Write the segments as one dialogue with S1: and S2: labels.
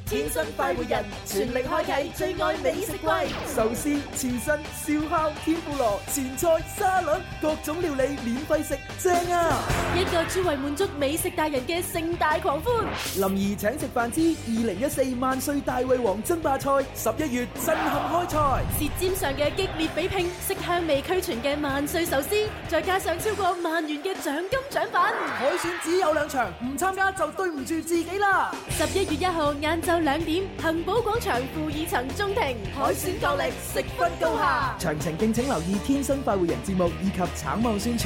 S1: 天生快活人，全力開啟最愛美食季，壽司、刺身、燒烤、天婦羅、前菜、沙律，各種料理免費食，正啊！一個專為滿足美食達人嘅盛大狂歡，林兒請食飯之2014萬歲大胃王爭霸賽11月震撼開賽，舌尖上嘅激烈比拼，色香味俱全嘅萬歲壽司，再加上超過萬元嘅獎金獎品，海選只有2場，唔參加就對唔住自己啦！11月1號晏晝2點，恒寶廣場負2層中庭，海選夠力，食分高下。詳情敬請留意《天生快活人》節目以及橙網宣傳。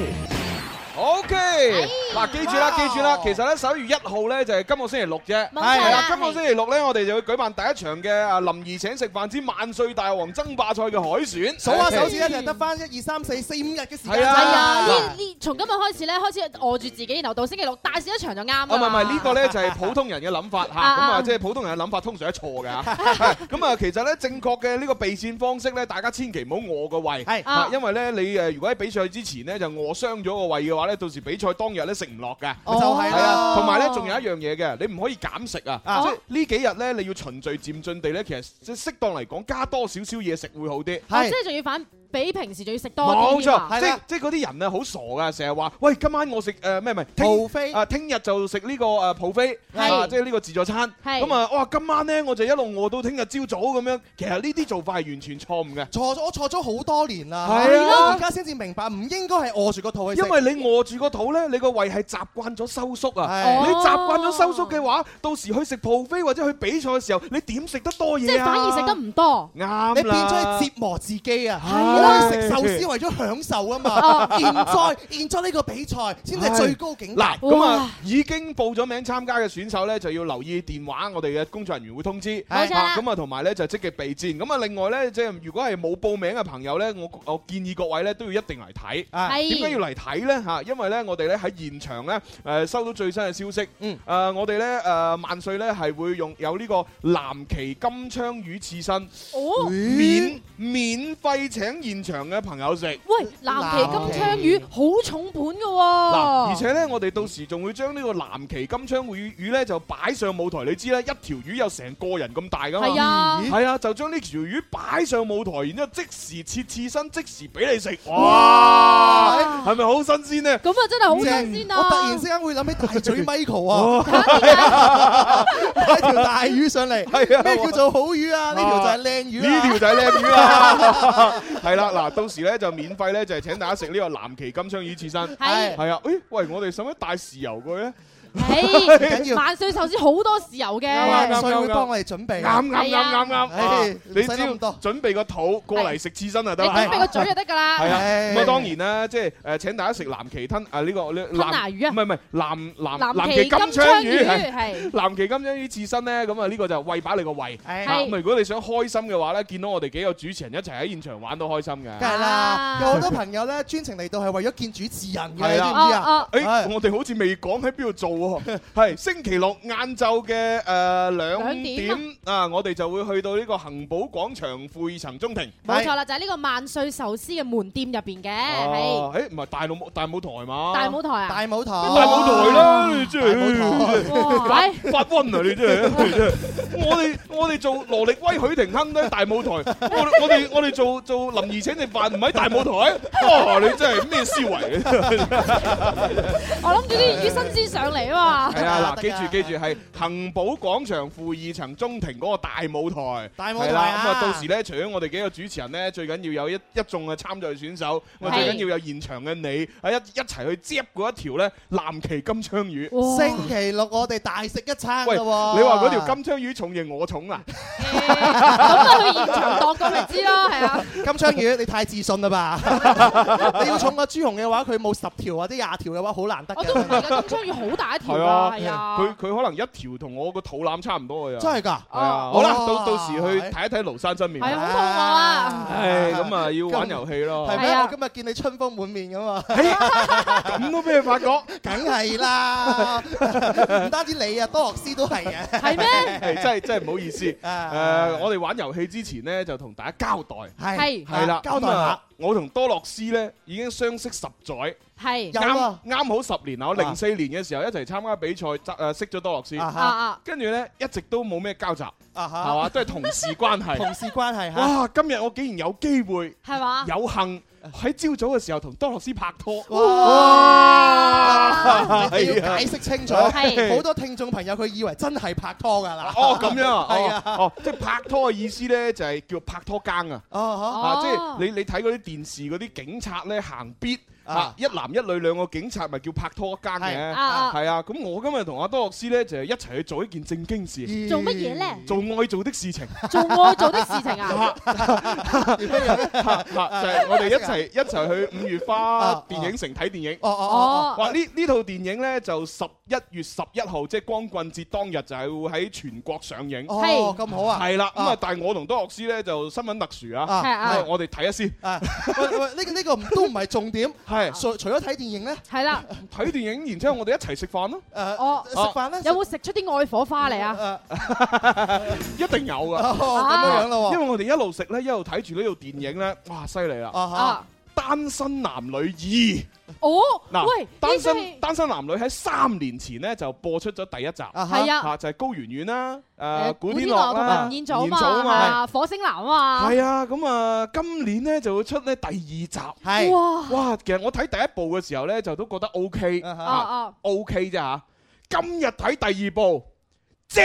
S2: OK，嗱，記住啦，其實咧11月1號咧就係今個星期六啫，係啦，今個星期六咧我哋就會舉辦第一場嘅林兒請食飯之萬歲大王爭霸賽嘅海選，
S3: 數下手指咧就得翻1、2、3、4、4、5日嘅時間。
S4: 係啊，從今日開始咧開始餓住自己，然後到星期六大試一場就啱啦。
S2: 唔係呢個咧就係普通人嘅諗法嚇，咁啊即係普通人嘅諗法通常係錯嘅嚇。咁啊其實咧正確嘅呢個備戰方式咧，大家千祈唔好餓個胃，係，因為咧你如果喺比賽之前咧就餓傷咗個胃嘅話咧，到時比賽當日咧食唔落嘅，
S3: 就係啦。
S2: 同埋咧仲有一樣嘢嘅，你唔可以減食啊！即係呢幾日咧你要循序漸進地咧，其實即係適當嚟講加多少少嘢食會好啲。
S4: 即係仲要比平時仲要食多啲。
S2: 冇錯，即係嗰啲人啊好傻噶，成日話喂今晚我食咩
S3: 蒲飛
S2: 啊，聽日就食呢個蒲飛，即係呢個自助餐。咁啊哇今晚咧我就一路餓到聽日朝早咁樣，其實呢啲做法係完全錯誤嘅。
S3: 我錯咗好多年啦，
S2: 係啊，
S3: 而家先至明白唔應該係餓住個肚去食。
S2: 因為你餓住個肚咧，你個胃係習慣咗收縮啊。你習慣咗收縮嘅話，到時去食蒲飛或者去比賽嘅時候，你點食得多嘢啊？
S4: 即係反而食得唔多。
S2: 啱啦，
S3: 你變咗去折磨自己啊！我去食壽司為咗享受啊嘛，現在呢個比賽先係最高境界。
S2: 嗱，咁啊已經報咗名參加嘅選手咧，就要留意電話，我哋嘅工作人員會通知。
S4: 冇錯啦。
S2: 咁啊同埋咧就積極備戰。咁啊另外咧，即係如果係冇報名嘅朋友咧，我建議各位咧都要一定嚟睇。點解要嚟睇咧？嚇，因為咧我哋咧喺現場咧收到最新嘅消息。我哋咧萬歲咧係會有呢個藍鰭金槍魚刺身，免費請現場嘅朋友食。
S4: 喂，藍鰭金槍魚好重本㗎喎。
S2: 嗱，而且咧我哋到時仲會將呢個藍鰭金槍魚咧就擺上舞台。你知啦，一條魚有成個人咁大㗎嘛。係啊，就將呢條魚擺上舞台，然之後即時切刺身，即時俾你食。哇，係咪好新鮮呢？
S4: 咁啊真係好新鮮啊！
S3: 我突然之間會諗起大嘴 Michael 啊，擺條大魚上嚟，咩叫做好魚啊？呢條就係靚魚，
S2: 呢條就係靚魚啦。係啦，嗱，到時咧就免費咧就係請大家食呢個藍鰭金槍魚刺身。係啊，喂，我哋使唔使帶豉油過去咧？
S3: 緊要
S4: 萬歲壽司好多豉油嘅，
S3: 萬歲會幫我哋準備。
S2: 啱。你只要準備個肚過嚟食刺身就得。
S4: 你準備個嘴就得㗎啦。
S2: 係啊，咁啊當然啦，即係請大家食藍鰭吞呢個
S4: 吞拿魚啊，
S2: 唔係藍鰭金槍魚係藍鰭金槍魚刺身咧，咁啊呢個就餵飽你個胃。咁如果你想開心嘅話咧，見到我哋幾個主持人一齊喺現場玩都開心嘅。
S3: 梗係啦，有好多朋友咧專程嚟到係為咗見主持人嘅，你知唔知啊？
S2: 我哋好似未講喺邊度做喎。係星期六晏晝嘅2點啊，我哋就會去到呢個恒寶廣場負2層中庭。
S4: 冇錯啦，就係呢個萬歲壽司嘅門店入邊嘅。係，
S2: 唔係大舞台嘛？
S4: 大舞台啊！
S3: 大舞台
S2: 啦，你真係發瘟啊！你真係，我哋做羅力威許廷鏗都喺大舞台，我哋做林兒請食飯唔喺大舞台。你真係咩思維？
S4: 我諗住啲魚新鮮上嚟啊嘛。
S2: 係啊，嗱，記住係恒寶廣場負2層中庭嗰個大舞台。係啦，咁啊到時咧，除咗我哋幾個主持人咧，最緊要有一眾嘅參賽選手，我最緊要有現場嘅你，一齊去接嗰一條咧藍鰭金槍魚。
S3: 星期六我哋大食一餐㗎喎。
S2: 你話嗰條金槍魚重型我重啊？
S4: 咁啊去現場度過咪知咯，係啊。
S3: 金槍魚你太自信啦吧？你要重過朱紅嘅話，佢冇10條或者20條嘅話，好難得。
S4: 我都唔係㗎，金槍魚好大一條㗎。係啊，
S2: 佢可能一條同我個肚腩差唔多嘅。
S3: 真係㗎？
S2: 係啊。好啦，到時去睇一睇廬山真面目。
S4: 係好肚餓啊！
S2: 咁啊要玩遊戲咯。
S3: 係咩？我今日見你春風滿面㗎嘛。
S2: 咁都俾你發覺？
S3: 梗係啦，唔單止你啊，多樂斯都係啊。
S4: 係咩？
S2: 真係唔好意思。我哋玩遊戲之前咧，就同大家交代。
S3: 係啦，交代下。
S2: 我同多樂斯咧已經相識10載，
S4: 係
S2: 啱好10年啦。我04年嘅時候一齊參加比賽，識咗多樂斯，跟住咧一直都冇咩交集，係嘛，都係同事關係。
S3: 同事關係嚇。
S2: 哇！今日我竟然有機會，
S4: 係嘛？
S2: 有幸喺朝早嘅時候同多樂斯拍拖。
S3: 哇！你要解釋清楚，好多聽眾朋友佢以為真係拍拖㗎啦。
S2: 哦，咁樣啊？
S3: 係啊。
S2: 哦，即係拍拖嘅意思咧，就係叫拍拖更啊。即係你睇嗰啲電視嗰啲警察咧行必。一男一女兩個警察咪叫拍拖更嘅，係啊。咁我今日同阿多樂斯咧就係一齊去做一件正經事。
S4: 做乜嘢咧？
S2: 做愛做的事情。
S4: 做愛做的事情啊！
S2: 就係我哋一齊去5月花電影城睇電影。哇！呢套電影咧就11月11號，即係光棍節當日就係會喺全國上映。
S3: 哦，咁好啊！
S2: 係啦，咁啊，但係我同多樂斯咧就身份特殊啊，我哋睇下先。
S3: 喂，呢個都唔係重點。
S2: 係，
S3: 除咗睇電影咧，
S4: 係啦，
S2: 睇電影，然之後我哋一齊食飯咯。
S3: 食飯咧，
S4: 有冇食出啲愛火花嚟啊？
S2: 一定有噶。
S3: 咁樣咯，
S2: 因為我哋一路食咧，一路睇住呢套電影咧，哇，犀利啦！單身男女2。
S4: 哦，
S2: 嗱，
S4: 喂，
S2: 單身男女喺3年前咧就播出咗第一集，
S4: 係啊，
S2: 就係高圓圓啦，古天樂
S4: 同埋吳彥祖啊嘛，火星男啊嘛，
S2: 係啊，咁啊，今年咧就會出咧第2集，
S3: 係，
S2: 哇，其實我睇第一部嘅時候咧就都覺得 OK 啫嚇，今日睇第2部。正，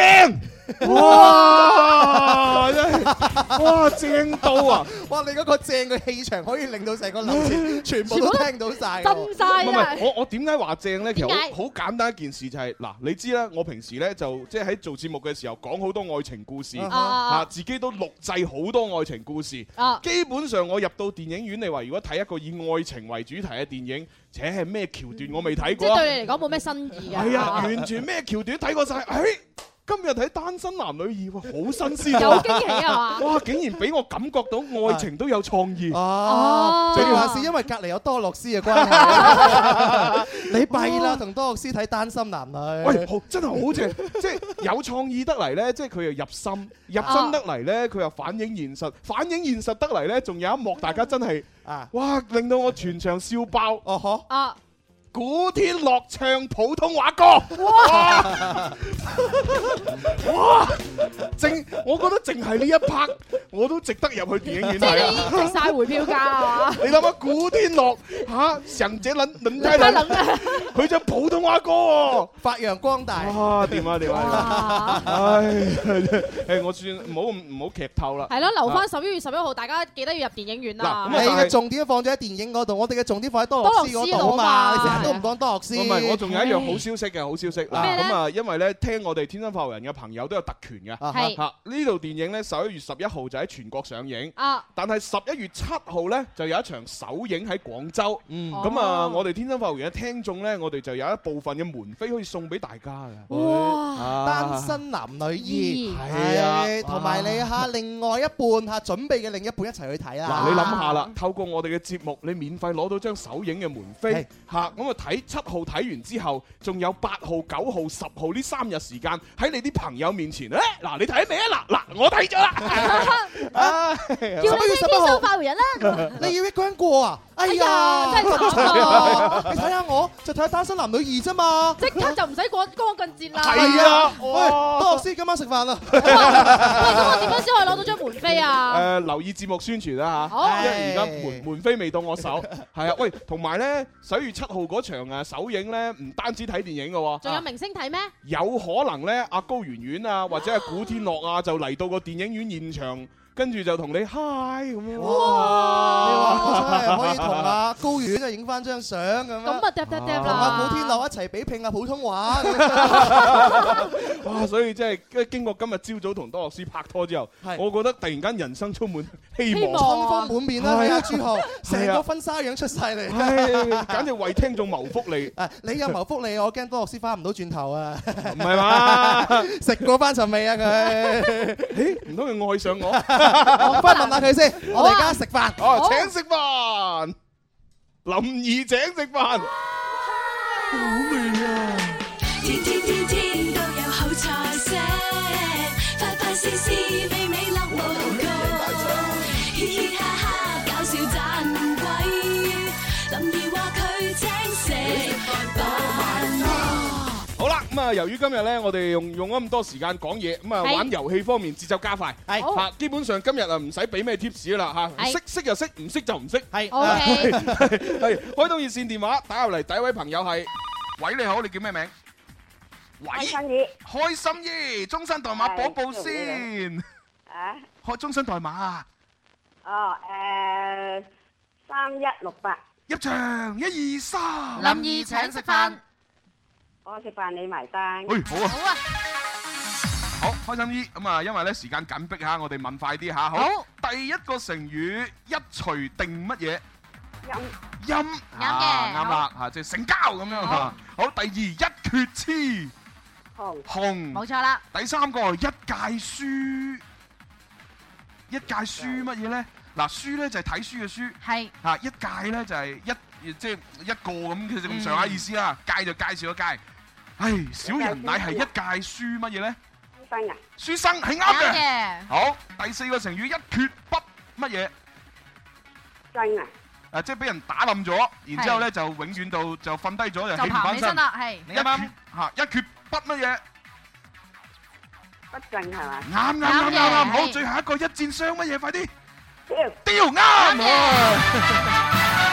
S2: 哇！真係，哇正到啊！
S3: 哇！你嗰個正嘅氣場可以令到成個樓市全部都聽到晒，
S4: 震曬啊！
S2: 我點解話正咧？其實好簡單一件事就係嗱，你知啦，我平時咧就即係喺做節目嘅時候講好多愛情故事，自己都錄製好多愛情故事。基本上我入到電影院，你話如果睇一個以愛情為主題嘅電影，且係咩橋段我未睇過。
S4: 即係對你嚟講冇咩新意啊！
S2: 係啊，完全咩橋段睇過晒。今日睇單身男女2，好新鮮，
S4: 有驚喜啊嘛！
S2: 哇，竟然俾我感覺到愛情都有創意。
S3: 最主要係因為隔離有多樂斯嘅關係。你弊啦，同多樂斯睇單身男女。
S2: 喂，真係好正，即係有創意得嚟咧，即係佢又入心得嚟咧，佢又反映現實得嚟咧，仲有一幕大家真係哇，令到我全場笑爆。古天樂唱普通話歌，哇！我覺得淨係呢一 part 我都值得入去電影院睇啊！
S4: 即係值晒回票價啊！
S2: 你諗下古天樂成隻輪胎輪，佢唱普通話歌喎，
S3: 發揚光大。
S2: 哇！掂啊！唉，我算唔好劇透啦。
S4: 係咯，留翻11月11號，大家記得要入電影院啦。
S3: 你嘅重點放咗喺電影嗰度，我哋嘅重點放喺多樂斯嗰度啊嘛。你成日都唔講多樂斯。
S2: 唔係，我仲有一樣好消息嘅，好消息嗱。咁啊，因為咧聽我哋天生發育人嘅朋友都有特權嘅。係。呢套電影咧11月11號就喺全國上映。但係11月7號咧就有一場首映喺廣州。咁啊，我哋天生發育人嘅聽眾咧，我哋就有一部分嘅門飛可以送俾大家嘅。
S3: 哇！單身男女2係啊，同埋你另外一半準備嘅另一半一齊去睇啦。
S2: 嗱，你諗下啦，透過我哋嘅節目，你免費攞到張首映嘅門飛咁啊睇7號睇完之後，仲有8號、9號、10號呢3日時間喺你啲朋友面前，嗱你睇未啊？嗱我睇咗啦，
S4: 叫你咩天生發育人啦？
S3: 你要一個人過啊？哎呀，
S4: 真係慘啊！
S3: 你睇下我，就睇下單身男女2啫嘛，
S4: 即刻就唔使過光棍節啦。
S2: 係啊，
S3: 喂，多樂斯今晚食飯啦。
S4: 喂，咁我點樣先可以攞到張門飛啊？
S2: 留意節目宣傳啦嚇，因為而家門飛未到我手。係啊，喂，同埋咧11月7號嗰場首映咧，唔單止睇電影嘅喎，
S4: 仲有明星睇咩？
S2: 有可能咧，阿高圓圓啊，或者係古天樂啊，就嚟到個電影院現場。跟住就同你 hi 咁樣，
S3: 哇！你話真係可以同阿高圓啊影翻張相咁樣，
S4: 咁啊嗒嗒嗒啦！
S3: 同阿古天樂一齊比拼下普通話，
S2: 哇！所以真係經過今日朝早同多樂斯拍拖之後，我覺得突然間人生充滿希望，
S3: 春風滿面啦！睇下朱浩，成個婚紗樣出晒嚟，
S2: 簡直為聽眾謀福利。
S3: 你有謀福利，我驚多樂斯翻唔到轉頭啊！
S2: 唔係嘛？
S3: 食過翻尋味啊佢？
S2: 唔通佢愛上我？
S3: 我翻問下佢先，我哋而家食飯，
S2: 請食飯，林怡請食飯，好味啊！
S5: 天天天天都有好菜色，快快試試美美樂無窮，嘻嘻哈哈搞笑賺。
S2: 好啦，咁啊，由於今日咧，我哋用咗咁多時間講嘢，咁啊玩遊戲方面節奏加快，係嚇，基本上今日啊唔使俾咩 tips 啦嚇，識就識，唔識就唔識，係。OK，係開通熱線電話打入嚟，第一位朋友係，喂你好，你叫咩名？
S6: 開心姨，
S2: 開心姨，終身代碼報報先。啊？開終身代碼啊？
S6: 哦，3168。
S2: 入場1、2、3。
S4: 林怡請食飯。
S6: 我食飯你埋單。
S2: 喂，好啊。好啊。好，開心姨，咁啊，因為咧時間緊迫嚇，我哋問快啲嚇。好。第一個成語一錘定乜嘢？陰。啱嘅。啱啦嚇，即係成交咁樣嚇。好，第二一決雌。紅。冇錯啦。第三個一屆書。一屆書乜嘢咧？嗱，書咧就係睇書嘅書。係。嚇，一屆咧就係即係一個咁，其實咁上下意思啦。屆就介紹個屆。唉，小人乃係一屆書乜嘢咧？書生啊！書生係啱嘅。好，第四個成語一缺筆乜嘢？
S6: 真啊！
S2: 啊，即係俾人打冧咗，然之後咧就永遠到就瞓低咗就起唔翻身啦。係。你啱嚇一缺筆乜嘢？
S6: 不正係嘛？
S2: 啱。好，最後一個一箭雙乜嘢？快啲！雕啱。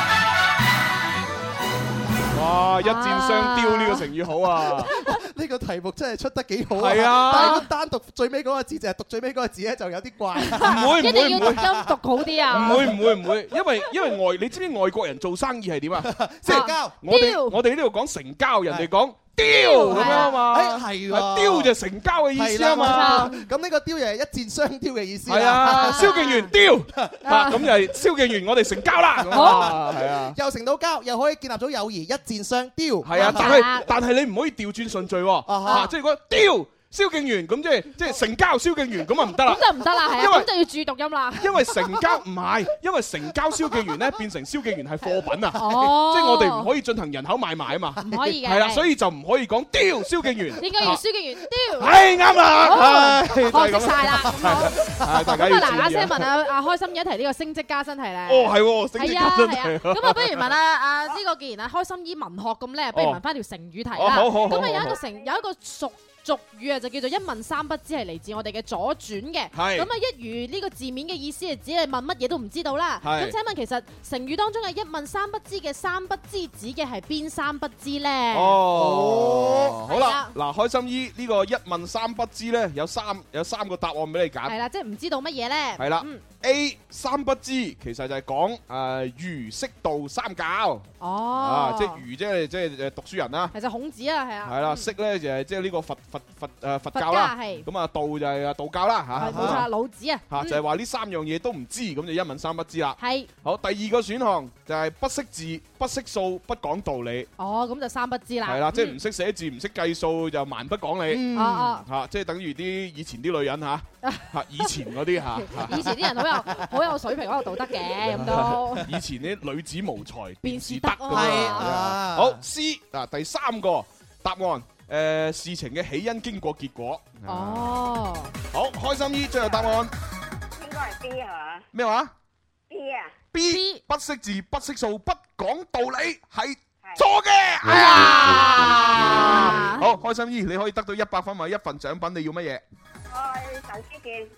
S2: 哇！一箭雙雕呢個成語好啊！
S3: 呢個題目真係出得幾好啊！
S2: 係啊，
S3: 但係單讀最尾嗰個字，就係讀最尾嗰個字咧，就有啲怪。
S2: 唔會，
S4: 一定要讀音讀好啲啊！
S2: 唔會，因為你知唔知外國人做生意係點啊？
S3: 成交。
S2: 我哋呢度講成交，人哋講雕咁樣啊嘛。
S3: 係喎，
S2: 雕就成交嘅意思啊嘛。
S3: 咁呢個雕又係一箭雙雕嘅意思。
S2: 係啊，蕭敬元雕咁就係蕭敬元，我哋成交啦。好，係啊，
S3: 又成到交，又可以建立咗友誼，一箭雙雕。
S2: 係啊，但係你唔可以調轉順序喎。即係如果雕蕭敬元咁即係成交蕭敬元咁啊唔得啦，
S4: 咁就唔得啦，係啊，咁就要注讀音啦。
S2: 因為成交唔係，因為成交蕭敬元咧變成蕭敬元係貨品啊，即係我哋唔可以進行人口買賣啊嘛，
S4: 唔可以嘅。
S2: 係啦，所以就唔可以講雕蕭敬元，
S4: 應該要蕭敬元雕。
S2: 係啱啦，
S4: 學識曬啦。
S2: 大家
S4: 咁啊嗱嗱聲問阿開心一題呢個升職加薪題咧。
S2: 哦係喎，升職加薪題。
S4: 咁啊不如問阿呢個既然阿開心姨文學咁叻，不如問翻條成語題啦。
S2: 好。
S4: 咁啊有一個俗語啊，就叫做一問三不知，係嚟自我哋嘅左傳嘅。咁啊，一如呢個字面嘅意思係指你問乜嘢都唔知道啦。咁請問其實成語當中嘅一問三不知嘅三不知指嘅係邊三不知咧？
S2: 好啦，嗱，開心姨呢個一問三不知咧，有三個答案俾你揀。係
S4: 啦，即係唔知道乜嘢咧？
S2: 係啦，A 三不知其實就係講儒釋道三教。即係儒即係讀書人啦。
S4: 其實孔子啊，係啊。
S2: 係啦，釋咧就係即係呢個佛教啦，咁啊道就係道教啦嚇，
S4: 冇錯，老子啊
S2: 嚇就係話呢三樣嘢都唔知，咁就一問三不知啦。係好，第二個選項就係不識字、不識數、不講道理。
S4: 咁就三不知啦。
S2: 係啦，即係唔識寫字、唔識計數就蠻不講理。嚇，即係等於以前啲女人嚇，以前嗰啲嚇。
S4: 以前啲人好有水平、好有道德嘅咁都。
S2: 以前啲女子無才便是德。
S3: 係
S2: 好 C 第三個答案。事情嘅起因、經過、結果。好，開心姨最後答案。
S6: 應該係 B 係嘛？
S2: 咩話
S6: ？B 啊
S2: ？B 不識字、不識數、不講道理係錯嘅。哎呀！好，開心姨你可以得到100分或者1份獎品，你要乜嘢？
S6: 壽司券。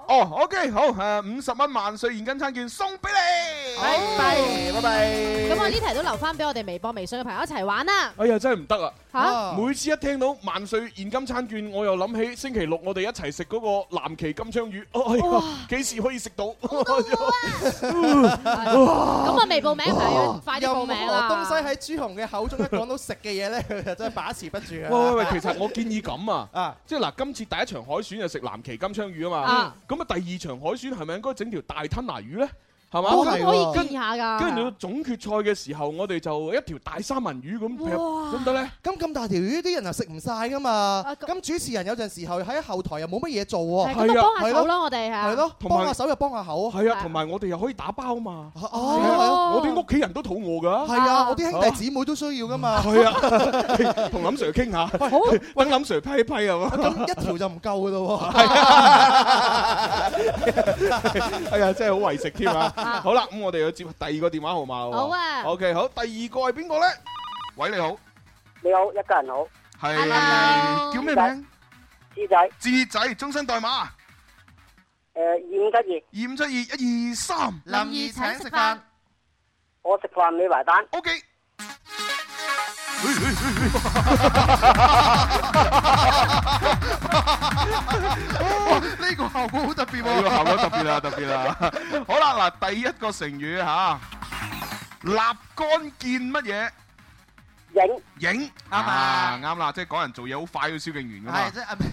S2: OK， 好，50蚊萬歲現金餐券送俾你。
S4: 拜拜。
S2: 咁
S4: 我呢題都留翻俾我哋微博、微信嘅朋友一齊玩啦。
S2: 哎呀，真係唔得啊！每次一聽到萬歲現金餐券，我又諗起星期六我哋一齊食嗰個藍鰭金槍魚。哎呀，幾時可以食到？
S4: 咁啊，未報名朋友快啲報名啦！
S3: 東西喺朱紅嘅口中一講到食嘅嘢咧，佢就真係把持不住啊！
S2: 喂，其實我建議咁啊，即係嗱，今次第一場海選就食藍鰭金槍魚啊嘛。咁啊，第二場海選係咪應該整條大吞拿魚咧？係嘛？
S4: 可以建議下㗎。
S2: 跟住到總決賽嘅時候，我哋就一條大三文魚咁，得唔得咧？
S3: 咁大條魚，啲人又食唔晒㗎嘛。咁主持人有陣時候喺後台又冇乜嘢做喎。
S4: 咁啊，幫下手咯，我哋係咯，
S3: 幫下手又幫下口。
S2: 係啊，同埋我哋又可以打包嘛。我哋屋企人都肚餓㗎。係
S3: 啊，我啲兄弟姊妹都需要㗎嘛。
S2: 係啊，同林 Sir 傾下，揾林 Sir 批一批啊。
S3: 咁一條就唔夠㗎咯喎。
S2: 係啊，真係好為食添啊！好啦，咁我哋要接第二個電話號碼喎。
S4: 好啊。
S2: OK，好，第二個係邊個咧？ 喂，你好。
S6: 你好，一家人好。
S2: 係叫咩名？
S6: 智仔。
S2: 智仔，終身代碼。2572。2572-123。
S3: 林怡請食飯。
S6: 我食飯你埋單。
S2: OK。
S3: 呢個效果好特別喎！
S2: 呢個效果特別啦，特別啦。好啦，嗱，第一個成語嚇，立竿見乜嘢？影啱啊，啱啦，即係講人做嘢好快，要蕭敬元㗎嘛。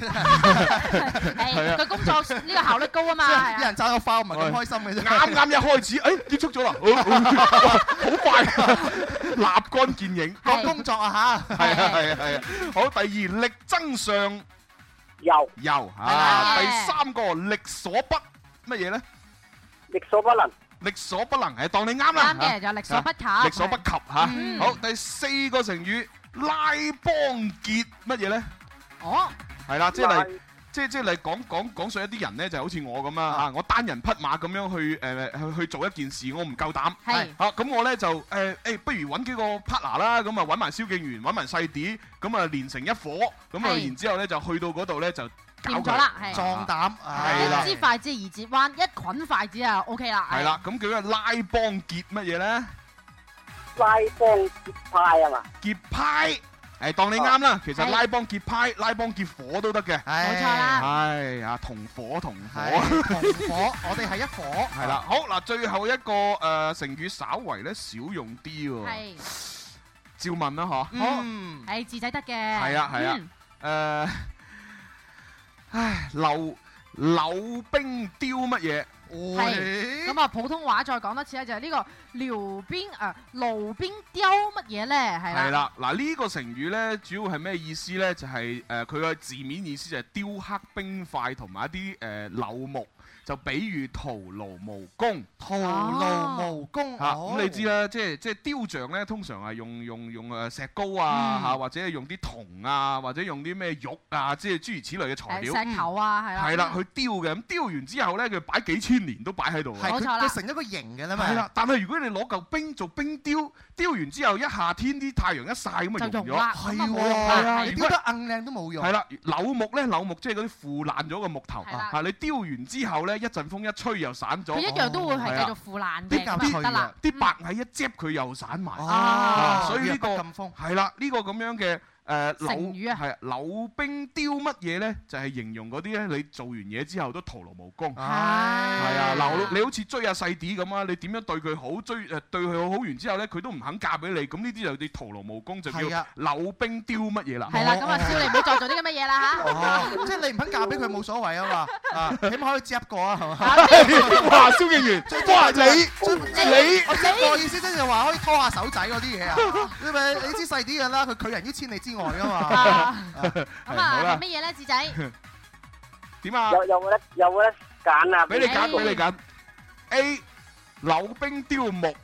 S4: 係佢工作呢個效率高啊嘛。
S3: 啲人爭個花唔係咁開心嘅啫。
S2: 啱一開始，結束咗啦，好快，立竿見影。
S3: 講工作啊嚇。
S2: 係啊。好，第二力爭上游啊，第三個力所不乜嘢咧？
S6: 力所不能。
S2: 力所不能係當你啱啦，
S4: 啱嘅就力所不及，
S2: 力所不及嚇。好，第四個成語拉幫結乜嘢咧？
S4: 哦，
S2: 係啦，即係嚟講述一啲人咧，就好似我咁啊嚇，我單人匹馬咁樣去做一件事，我唔夠膽。
S4: 係
S2: 嚇，咁我咧就不如揾幾個 partner 啦，咁啊揾埋蕭敬元，揾埋細啲，咁啊連成一伙，咁啊然之後咧就去到嗰度咧就。
S4: 掂咗啦，係
S3: 壯膽，
S4: 一支筷子二節彎，一捆筷子啊 OK 啦。
S2: 係啦，咁叫做拉幫結乜嘢咧？
S6: 拉幫結派啊嘛。
S2: 結派，當你啱啦。其實拉幫結派、拉幫結伙都得嘅。
S4: 冇錯啦。
S2: 係啊，同伙，
S3: 同伙，我哋係一伙。
S2: 係啦，好嗱，最後一個成語稍為咧少用啲喎。係。照問啦，嗬。
S4: 好。係智仔得嘅。
S2: 係啊。唉，溜冰雕乜嘢？
S4: 係咁啊！普通話再講多次咧，就係呢個溜冰路邊雕乜嘢咧？係啦。
S2: 嗱呢個成語咧，主要係咩意思咧？就係佢嘅字面意思就係雕刻冰塊同埋一啲柳木。就比喻徒勞無功，
S3: 徒勞無功
S2: 嚇。咁你知啦，即係雕像咧，通常係用石膏啊嚇，或者係用啲銅啊，或者用啲咩玉啊，即係諸如此類嘅材料。
S4: 石頭啊，係啦。
S2: 係啦，去雕嘅。咁雕完之後咧，佢擺幾千年都擺喺度。
S3: 冇錯啦，佢成一個形嘅啦嘛。
S2: 係啦，但係如果你攞嚿冰做冰雕，雕完之後一夏天啲太陽一曬咁就溶咗。
S3: 係喎，你雕得硬靚都冇用。
S2: 係啦，柳木即係嗰啲腐爛咗嘅木頭嚇，你雕完之後咧，一陣風一吹又散咗，
S4: 佢一樣都會係繼續腐爛嘅，
S2: 得啦。啲白蟻一摺佢又散埋，所以呢個係啦，呢個咁樣嘅
S4: 成語啊，
S2: 係溜冰雕乜嘢咧？就係形容嗰啲咧，你做完嘢之後都徒勞無功。係啊，嗱，你好似追阿細啲咁啊，你點樣對佢好，對佢好完之後咧，佢都唔肯嫁俾你，咁呢啲就你徒勞無功，就叫溜冰雕乜嘢啦？
S4: 係啦，咁啊，少你唔好再做啲咁嘅嘢啦嚇。
S3: 即係你唔肯嫁俾佢冇所謂啊嘛，起碼可以接一個啊，係嘛？
S2: 哇，蕭敬元，哇你
S3: 我接個意思即係話可以拖下手仔嗰啲嘢啊，因為你知細啲嘅啦，佢拒人於千里之外噶嘛。
S4: 咁啊，乜嘢咧，智仔？
S2: 點啊？
S6: 有冇得揀啊？
S2: 俾你揀。A 溜冰雕木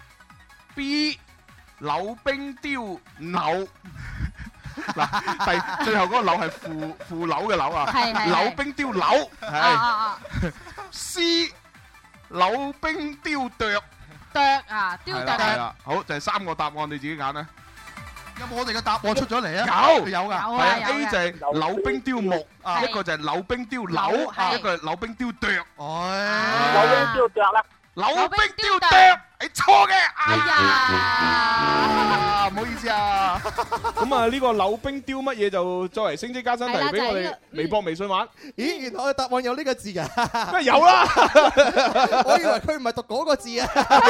S2: ，B 溜冰雕柳。嗱，最後嗰個柳係腐柳嘅柳啊，溜冰雕柳係。C 溜冰雕啄
S4: 啊，雕啄
S2: 係啦，好就係3個答案，你自己揀啦。
S3: 有冇我哋嘅答案出咗嚟啊？有㗎，
S2: 係啊。A 就係溜冰雕木，一個就係溜冰雕柳，一個係溜冰雕啄。
S6: 溜冰雕啄啦，
S2: 溜冰雕啄，係錯嘅。哎呀，唔好意思啊。咁啊，呢個溜冰雕乜嘢就作為升職加薪題俾我哋微博、微信玩。
S3: 咦，原來我嘅答案有呢個字㗎？
S2: 咩有啦？
S3: 我以為佢唔係讀嗰個字啊。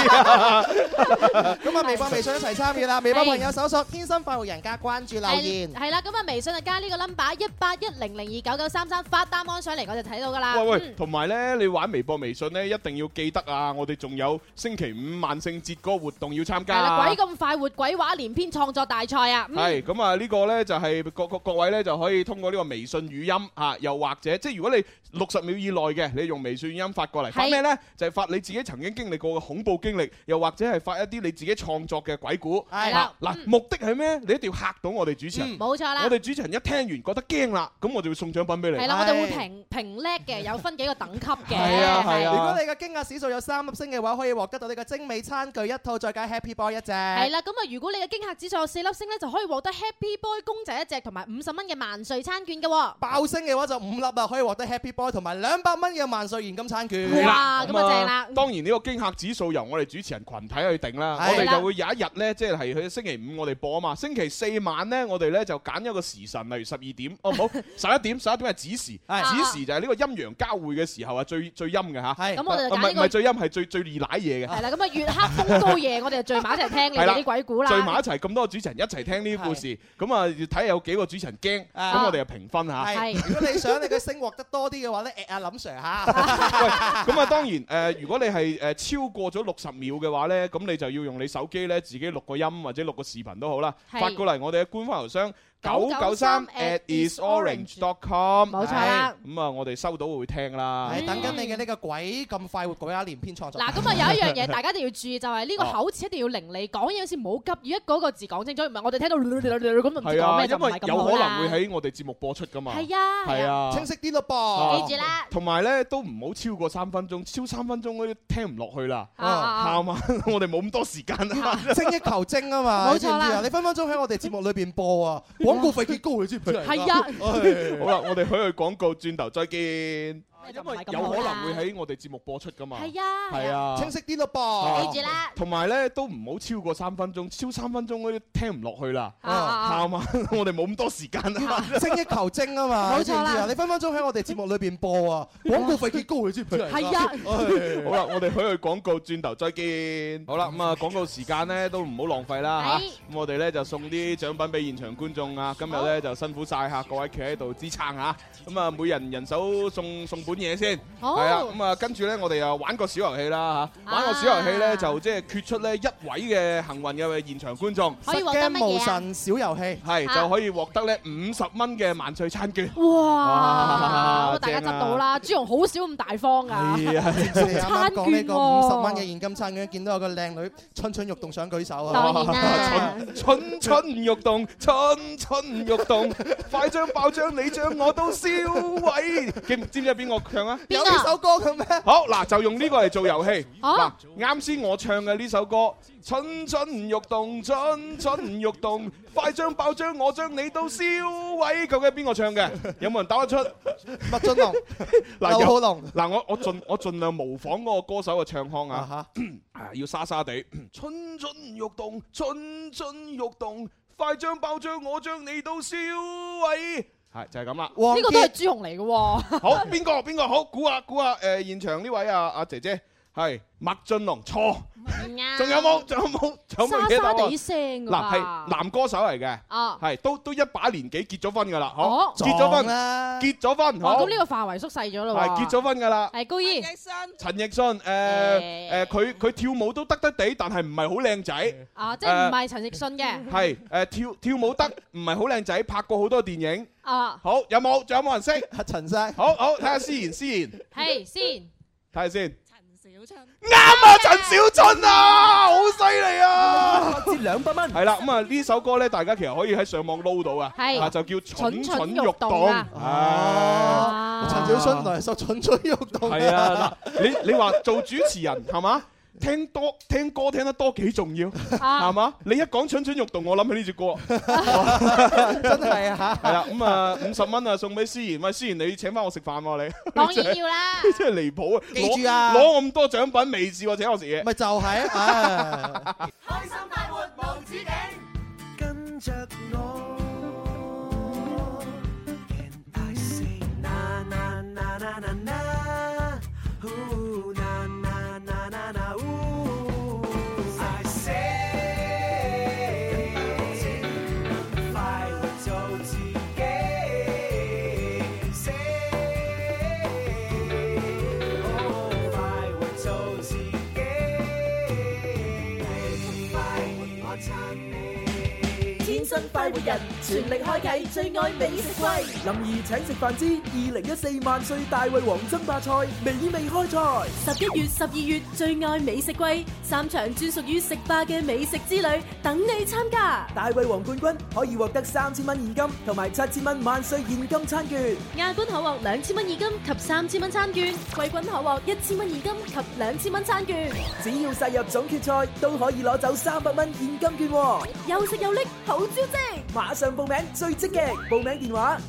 S3: 咁啊，微博、微信一齊參與啦！微博朋友搜索天生快活人加關注留言。
S4: 係啦，咁啊，微信就加呢個 number 18100299933發答案上嚟，我就睇到㗎啦。
S2: 喂，同埋咧，你玩微博、微信咧，一定要記得啊！我哋仲有星期5萬聖節嗰個活動要參加。係啦，
S4: 鬼咁快活，鬼話連篇創作大賽啊！
S2: 係咁啊，呢個咧就係各位咧就可以通過呢個微信語音啊，又或者即係如果你60秒以內嘅，你用微信語音發過嚟，發咩咧？就係發你自己曾經經歷過嘅恐怖經歷，又或者係發一啲你自己創作嘅鬼故。
S4: 係啦，
S2: 嗱，目的係咩？你一定要嚇到我哋主持人。
S4: 冇錯啦。
S2: 我哋主持人一聽完覺得驚啦，咁我就會送獎品俾你。
S4: 係啦，我哋會評叻嘅，有分幾個等級嘅。
S2: 係啊係啊。
S3: 如果你嘅驚訝指數有3粒星嘅話，可以獲得到呢個精美餐具一套，再加 Happy Boy 一隻。
S4: 係啦，咁啊，如果你嘅驚嚇指數有4粒星咧，就可以獲得 Happy Boy 公仔一隻同埋50蚊嘅萬歲餐券嘅。
S3: 爆星嘅話就5粒啊，可以獲得 Happy Boy 同埋200蚊嘅萬歲現金餐券。
S4: 哇，咁啊正啦！
S2: 當然呢個驚嚇指數由我哋主持人群體去定啦，我哋就會有一日咧，即係去星期5我哋播啊嘛，星期4晚咧我哋咧就揀一個時辰，例如12點，哦唔好11點係子時，子時就係呢個陰陽交匯嘅時候啊，最陰嘅嚇。
S4: 咁我哋就揀呢個
S2: 唔係最陰，係最易瀨嘢嘅。
S4: 係啦，咁啊月黑風高夜，我哋就聚埋一齊聽你哋啲鬼故啦。
S2: 聚埋一齊咁多個主持人一齊聽呢啲故事，咁啊睇下有幾個主持人驚，咁我哋就評分嚇。
S3: 如果你想你嘅星獲得多啲嘅話咧，阿林 Sir 嚇。
S2: 喂，咁啊當然如果你係超過咗60秒嘅話咧，咁你就要用你手機咧自己錄個音或者錄個視頻都好啦，發過嚟我哋嘅官方郵箱993@isorange.com。
S4: 冇錯啦。
S2: 咁啊，我哋收到會聽啦。
S3: 係等緊你嘅呢個鬼咁快活鬼話連篇創作。
S4: 嗱，咁啊有一樣嘢大家一定要注意，就係呢個口齒一定要伶俐，講嘢嗰時唔好急，要一個個字講清楚，唔係我哋聽到咁就唔知講咩就唔係咁好啦。
S2: 因為有可能會喺我哋節目播出噶嘛。
S4: 係啊，
S2: 係啊，
S3: 清晰啲咯噃。
S4: 記住啦。
S2: 同埋咧都唔好超過3分鐘，超3分鐘嗰啲聽唔落去啦。係嘛，我哋冇咁多時間啊嘛，
S3: 精益求精啊嘛。
S4: 冇錯啦。
S3: 你分分鐘喺我哋節目裏邊播啊，廣告費幾高你知唔知？
S4: 係啊。
S2: 好啦，我哋去廣告，轉頭再見。因為有可能會喺我哋節目播出噶嘛。
S4: 係啊，
S2: 係啊，
S3: 清晰啲咯噃。
S4: 記住啦。
S2: 同埋咧都唔好超過3分鐘，超3分鐘嗰啲聽唔落去啦。係嘛，我哋冇咁多時間啊嘛。
S3: 精益求精啊嘛。
S4: 冇錯啦。
S3: 你分分鐘喺我哋節目裏邊播啊，廣告費幾高你知唔知？
S4: 係啊。
S2: 好啦，我哋去廣告，轉頭再見。好啦，咁啊廣告時間咧都唔好浪費啦嚇。咁我哋咧就送啲獎品俾現場觀眾啊。今日咧就辛苦曬嚇，各位企喺度支撐嚇。咁啊，每人手送本嘢先。係啊，咁啊，跟住咧，我哋又玩個小遊戲啦嚇。玩個小遊戲咧，就即係決出咧1位嘅幸運嘅現場觀眾，
S4: 可以獲得乜嘢啊？
S3: 無神小遊戲
S2: 係就可以獲得咧50蚊嘅萬歲餐券。
S4: 哇！大家執到啦，朱紅好少咁大方㗎。
S3: 係啊，啱啱講呢個50蚊嘅現金餐券，見到有個靚女蠢蠢欲動想舉手啊！
S4: 當然啦，
S2: 蠢蠢欲動，蠢蠢欲動，快將爆將你將我都燒毀。知唔知係邊個唱啊？
S3: 有呢首歌嘅咩？
S2: 好嗱，就用呢個嚟做遊戲。嗱，啱先我唱嘅呢首歌，蠢蠢欲動，蠢蠢欲動，快將爆將我將你都燒毀。究竟係邊個唱嘅？有冇人答得出？
S3: 麥浚龍、劉浩龍。嗱，
S2: 我盡量模仿嗰個歌手嘅唱腔啊，要沙沙地。蠢蠢欲動，蠢蠢欲動，快將爆將我將你都燒毀。係就係咁啦，
S4: 呢個都係朱紅嚟嘅喎。
S2: 好，邊個好？估下，現場呢位阿姐姐係麥浚龍，錯。仲有冇？
S4: 沙沙地聲㗎。
S2: 嗱，係男歌手嚟嘅，係都一把年紀，結咗婚㗎啦，好，結咗婚，好。
S4: 咁呢個範圍縮細咗咯喎。
S2: 係結咗婚㗎啦。
S4: 係高姨。
S2: 陳奕迅，佢跳舞都得地，但係唔係好靚仔。
S4: 即係唔係陳奕迅嘅。
S2: 係跳舞得，唔係好靚仔，拍過好多電影。好，仲有冇人識？
S3: 陳生。
S2: 好，睇下思妍。
S4: 係先。
S2: 睇下先。
S5: 陳小春。
S2: 啱啊，陳小春啊，好犀利啊！
S1: 折200蚊。
S2: 係啦，咁啊呢首歌咧，大家其實可以喺上網撈到啊，就叫蠢蠢欲動。
S3: 陳小春嚟首蠢蠢欲動。
S2: 係啊，嗱，你話做主持人係嘛？聽歌聽得多幾重要，係嘛？你一講蠢蠢欲動，我諗起呢隻歌，
S3: 真係啊！
S2: 係啦，咁啊50蚊啊送俾思妍，喂，思妍你請翻我食飯喎你，
S4: 當然要啦，
S2: 真係離譜啊！
S3: 記住啊，
S2: 攞咁多獎品未試過請我食嘢，
S3: 咪就係啊！
S1: 開心快活無止境，跟着我。天生快活人， 全力開啟最愛美食季，林兒請食飯之2014萬歲大胃王爭霸賽美味開賽。
S7: 11月、12月最愛美食季，3場專屬於食霸嘅美食之旅等你參加。
S1: 大胃王冠軍可以獲得3000蚊現金同埋7000蚊萬歲現金餐券，
S7: 亞軍可獲2000蚊現金及3000蚊餐券，季軍可獲1000蚊現金及2000蚊餐券。
S1: 只要殺入總決賽，都可以攞走300蚊現金券喎。
S7: 又食又拎，好招積！
S1: 馬上報名最積極，報名電話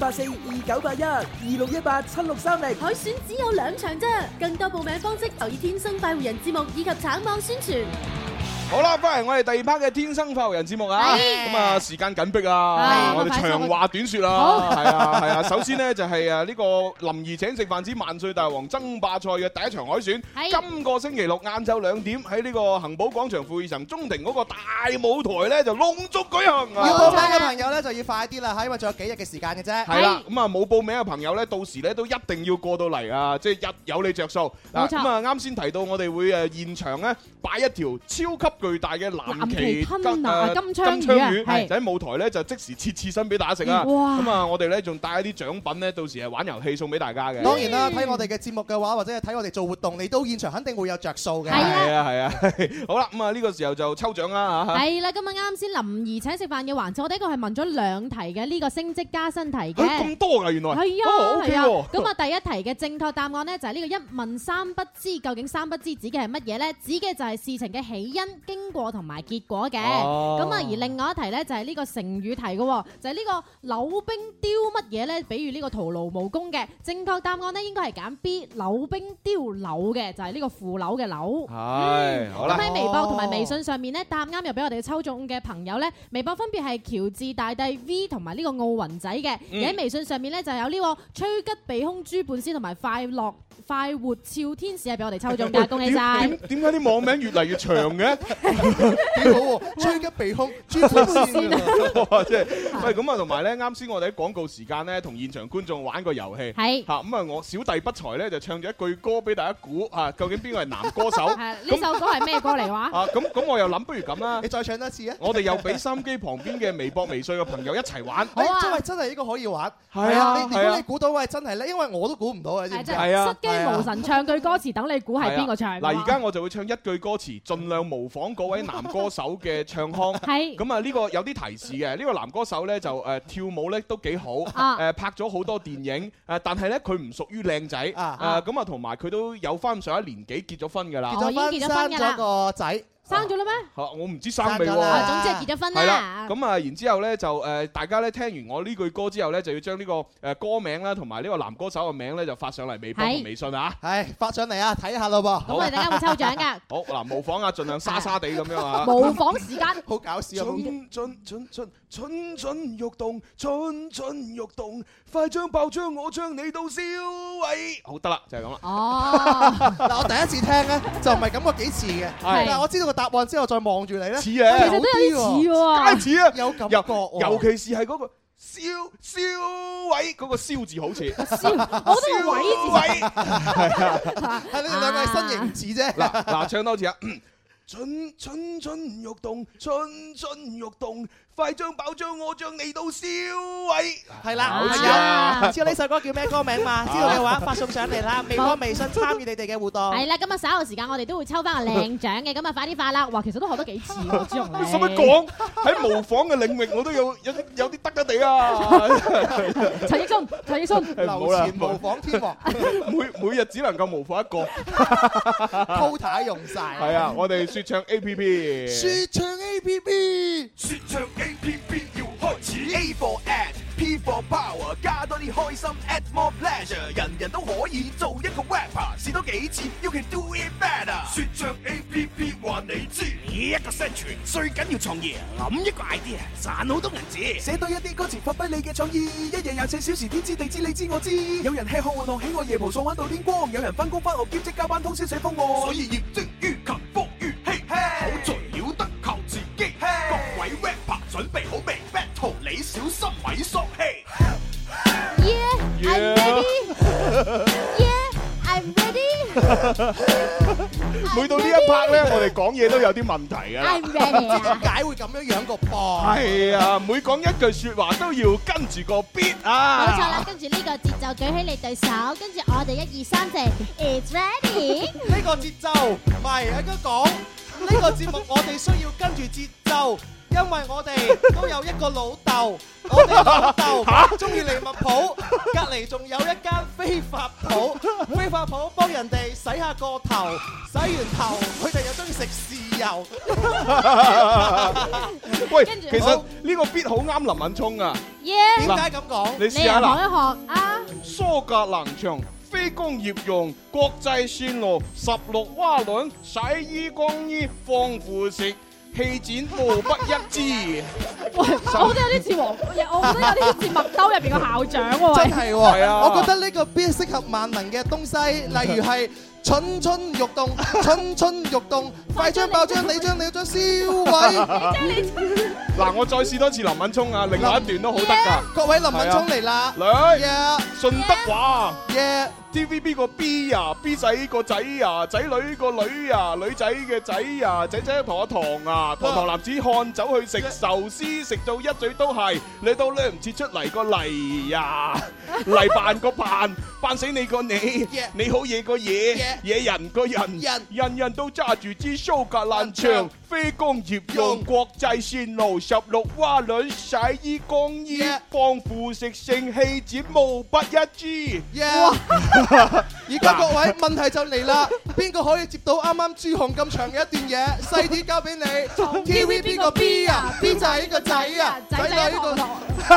S1: 83842981 26187630。
S7: 海選只有2場啫，更多報名方式留意天生快活人節目以及橙網宣傳。
S2: 好啦，翻嚟我哋第2 part 嘅天生快活人節目啊，咁啊時間緊迫啊，我哋長話短說啦，係啊，首先呢，就係呢個林兒請食飯之萬歲大王爭霸賽嘅第1場海選，今個星期六晏晝2點喺呢個恒寶廣場富裕城中庭嗰個大舞台咧就隆重舉行。
S3: 要報名嘅朋友咧就要快啲啦，因為仲有幾日嘅時間嘅啫。
S2: 係啦，咁啊冇報名嘅朋友咧，到時咧都一定要過到嚟啊，即係有你着數。
S4: 冇錯。
S2: 咁啊啱先提到我哋會現場咧擺一條超級巨大嘅藍鰭金槍魚，就喺舞台咧就即時切身俾大家食啊！咁啊，我哋咧仲帶一啲獎品咧，到時係玩遊戲送俾大家嘅。
S3: 當然啦，睇我哋嘅節目嘅話，或者係睇我哋做活動，你到現場肯定會有着數嘅。
S2: 係啊，好啦，咁啊呢個時候就抽獎啦嚇。
S4: 係啦，今日啱先林兒請食飯嘅環節，我哋一個係問咗2題嘅呢個升職加薪題嘅。
S2: 咁多㗎原來。
S4: 係啊，咁啊第一題嘅正確答案咧就係呢個一問三不知，究竟三不知指嘅係乜嘢咧？指嘅就係事情嘅起因、經過同埋結果嘅。咁啊而另外一題咧就係呢個成語題嘅，就係呢個扭兵丟乜嘢咧？比如呢個徒勞無功嘅。正確答案咧應該係揀 B 扭兵丟樓嘅，就係呢個負樓嘅樓。
S2: 係，好啦。
S4: 咁喺微博同埋微信上面咧答啱又俾我哋抽中嘅朋友咧，微博分別係喬治大帝 V 同埋呢個奧雲仔嘅，而喺微信上面咧就有呢個吹吉避凶豬半仙同埋快活俏天使係俾我哋抽中㗎，恭喜晒！
S2: 點解啲網名越嚟越長嘅？
S3: 幾好喎！吹吉避凶豬半仙
S2: 啊！即係喂咁啊，同埋咧，啱先我哋喺廣告時間咧，同現場觀眾玩個遊戲。
S4: 係
S2: 嚇咁啊！我小弟不才咧就唱咗一句歌俾大家估嚇，究竟邊個係男歌手？
S4: 呢首歌係咩歌嚟話？
S2: 啊咁我又諗，不如咁啦，
S3: 你再唱多次啊！
S2: 我哋又俾收音機旁邊嘅微博、微信嘅朋友一齊玩。
S3: 好啊！真係呢個可以玩。
S2: 係啊！
S3: 如果你估到，喂，真係咧，因為我都估唔到啊！知唔知？
S2: 係啊！
S4: 失驚無神唱句歌詞，等你估係邊個唱。
S2: 嗱，而家我就會唱一句歌詞，盡量模仿嗰位男歌手嘅唱腔。
S4: 係。
S2: 咁啊，呢個有啲提示嘅。呢個男歌手咧就跳舞咧都幾好，拍咗好多電影，但係咧佢唔屬於靚仔，咁啊同埋佢都有翻上一年紀結咗婚㗎啦。
S3: 已經結咗婚㗎啦。生咗個仔。
S4: 生咗啦咩？
S2: 我唔知生未喎。
S4: 總之係結咗婚啦。
S2: 係啦，咁啊，然之後咧就大家咧聽完我呢句歌之後咧，就要將呢個歌名啦，同埋呢個男歌手嘅名咧，就發上嚟微博同微信啊。
S3: 係發上嚟啊，睇下咯噃。
S4: 咁我哋大家會抽獎㗎。
S2: 好嗱，模仿啊，盡量沙沙地咁樣啊。
S4: 模仿時間。
S3: 好搞笑啊！
S2: 蠢蠢欲動，蠢蠢欲動，快將爆將我將你到燒毀。好得啦，就係咁啦。
S4: 哦。
S3: 嗱，我第一次聽咧，就唔係感覺幾似嘅。係。但係我知道個答案之後，再望住你咧，
S2: 似啊，
S4: 其實都有啲似喎。
S2: 梗係似啊，
S3: 有感覺。
S2: 尤其是係嗰個燒毀嗰個燒字好似。
S4: 我覺得個毀字。
S3: 係你哋兩個係身形唔似啫。
S2: 嗱，唱多次啊！蠢蠢欲動，蠢蠢欲動，快將爆將我將你到燒毀。
S3: 係啦，知道呢首歌叫咩歌名嘛？知道嘅話發送上嚟啦，微博、微信參與你哋嘅互動。
S4: 係啦，今日稍後時間我哋都會抽翻個靚獎嘅，咁啊快啲發啦！哇，其實都學得幾似喎，朱紅你。
S2: 使乜講？喺模仿嘅領域我都有啲得地啊！
S4: 陳奕迅，
S3: 流前模仿天王，
S2: 每日只能夠模仿一個
S3: ，quota 用晒。
S2: 係啊，我哋說唱 A P P，
S3: 說唱 A P P，
S8: 說唱 A P P 要開始 ，A for ad，P for power， 加多啲開心 ，add more pleasure， 人人都可以做一個 rapper， 試多幾次，you can do it better。說唱 A P P 話你知，一個生存最緊要創意，諗一個 idea， 賺好多銀紙，寫多一啲歌詞，發揮你嘅創意，一日24小時，天知地知你知我知，有人吃喝玩樂，喜愛夜蒲爽玩到天光，有人翻工翻學兼職加班通宵寫方案，所以業精於勤，福於嬉，好在了得靠自己。各位 rapper 準備好未 ？Battle 你小心咪喪氣。
S4: Yeah，I'm ready。Yeah，I'm ready。
S2: 每到呢一 part 咧，我哋講嘢都有啲問題㗎啦。
S3: 點解會咁樣個噃？
S2: 係啊，每講一句説話都要跟住個 beat 啊！
S9: 冇錯啦，跟住呢個節奏舉起你對手，跟住我哋1、2、3，謝 It's ready。
S3: 呢個節奏唔係應該講呢個節目，我哋需要跟住節奏。因為我哋都有一個老豆，我哋老豆中意利物浦，隔離仲有一間飛髮鋪，飛髮鋪幫人哋洗下個頭，洗完頭佢哋又中意食豉油。
S2: 喂，其實呢個 beat 好啱林敏聰啊！
S3: 點解咁講？
S2: 你試下啦。
S4: 學一學啊！
S2: 蘇格蘭場非工業用國際線路16蛙輪洗衣乾衣防腐蝕。氣展無不一致。
S4: 喂，我覺得有啲似我覺得有啲似麥兜入邊個校長喎。
S3: 真係喎，係啊！我覺得呢個 beat 適合萬能嘅東西，例如係蠢蠢欲動，蠢蠢欲動，快將爆將你將燒毀。
S2: 嗱，我再試多次林敏聰啊，另外一段都好得㗎。
S3: 各位林敏聰嚟啦，
S2: 嚟，順德話。
S3: TVB
S2: 個 B 啊 ，B 仔個仔啊，仔女個女啊，女仔嘅仔啊，仔仔同阿糖啊，堂男子漢走去食壽司，食到一嘴都係，你都掠唔切出嚟個嚟呀，嚟扮個扮，扮死你個你，你好嘢個嘢，野人個人，人人都揸住支蘇格蘭場，非工業用國際線路16蛙輪洗衣乾衣，防腐蝕性氣展無不一致。
S3: 而家各位問題就嚟啦，邊個可以接到啱啱朱紅咁長嘅一段嘢？細啲交俾你。TVB 個 B 啊 ，B 仔個仔啊，仔女個堂。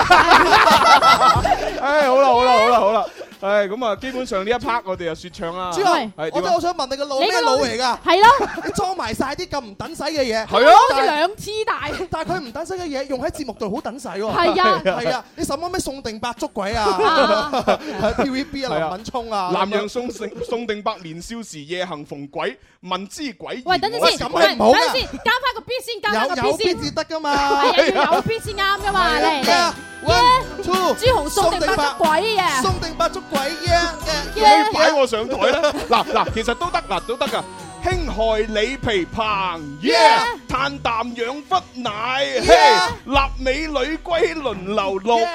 S2: 唉，好啦。唉，咁啊，基本上呢一 part 我哋就説唱啦。
S3: 朱紅，我想問你個腦咩腦嚟㗎？
S4: 係咯，
S3: 你裝埋曬啲咁唔等使嘅嘢。
S2: 係啊，
S4: 好似兩次大。
S3: 但係佢唔等使嘅嘢用喺節目度好等使喎。
S4: 係
S3: 啊，你什麼咩宋定伯捉鬼啊 ？TVB 啊，林敏聰啊。
S2: 南陽宋定伯年少時夜行逢鬼，問之鬼。
S4: 喂，等陣先，加翻個 B 先，加翻個 B 先。
S3: 有 B 至得㗎嘛？
S4: 係啊，要有 B 先啱㗎嘛？嚟。
S3: One two，
S4: 朱紅宋定伯捉鬼啊！
S3: 宋定伯捉鬼呀！
S2: 你擺我上台啦！嗱，其實都得㗎。輕害李皮棚，嘆啖養忽奶，立美女歸輪流錄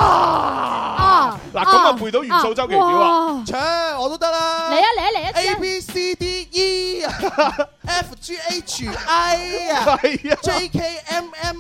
S2: 嗱，咁啊背到元素周期表啊！
S3: 唱我都得啦！
S4: 嚟啊
S3: ！A B C D E F G H I 啊，J K M M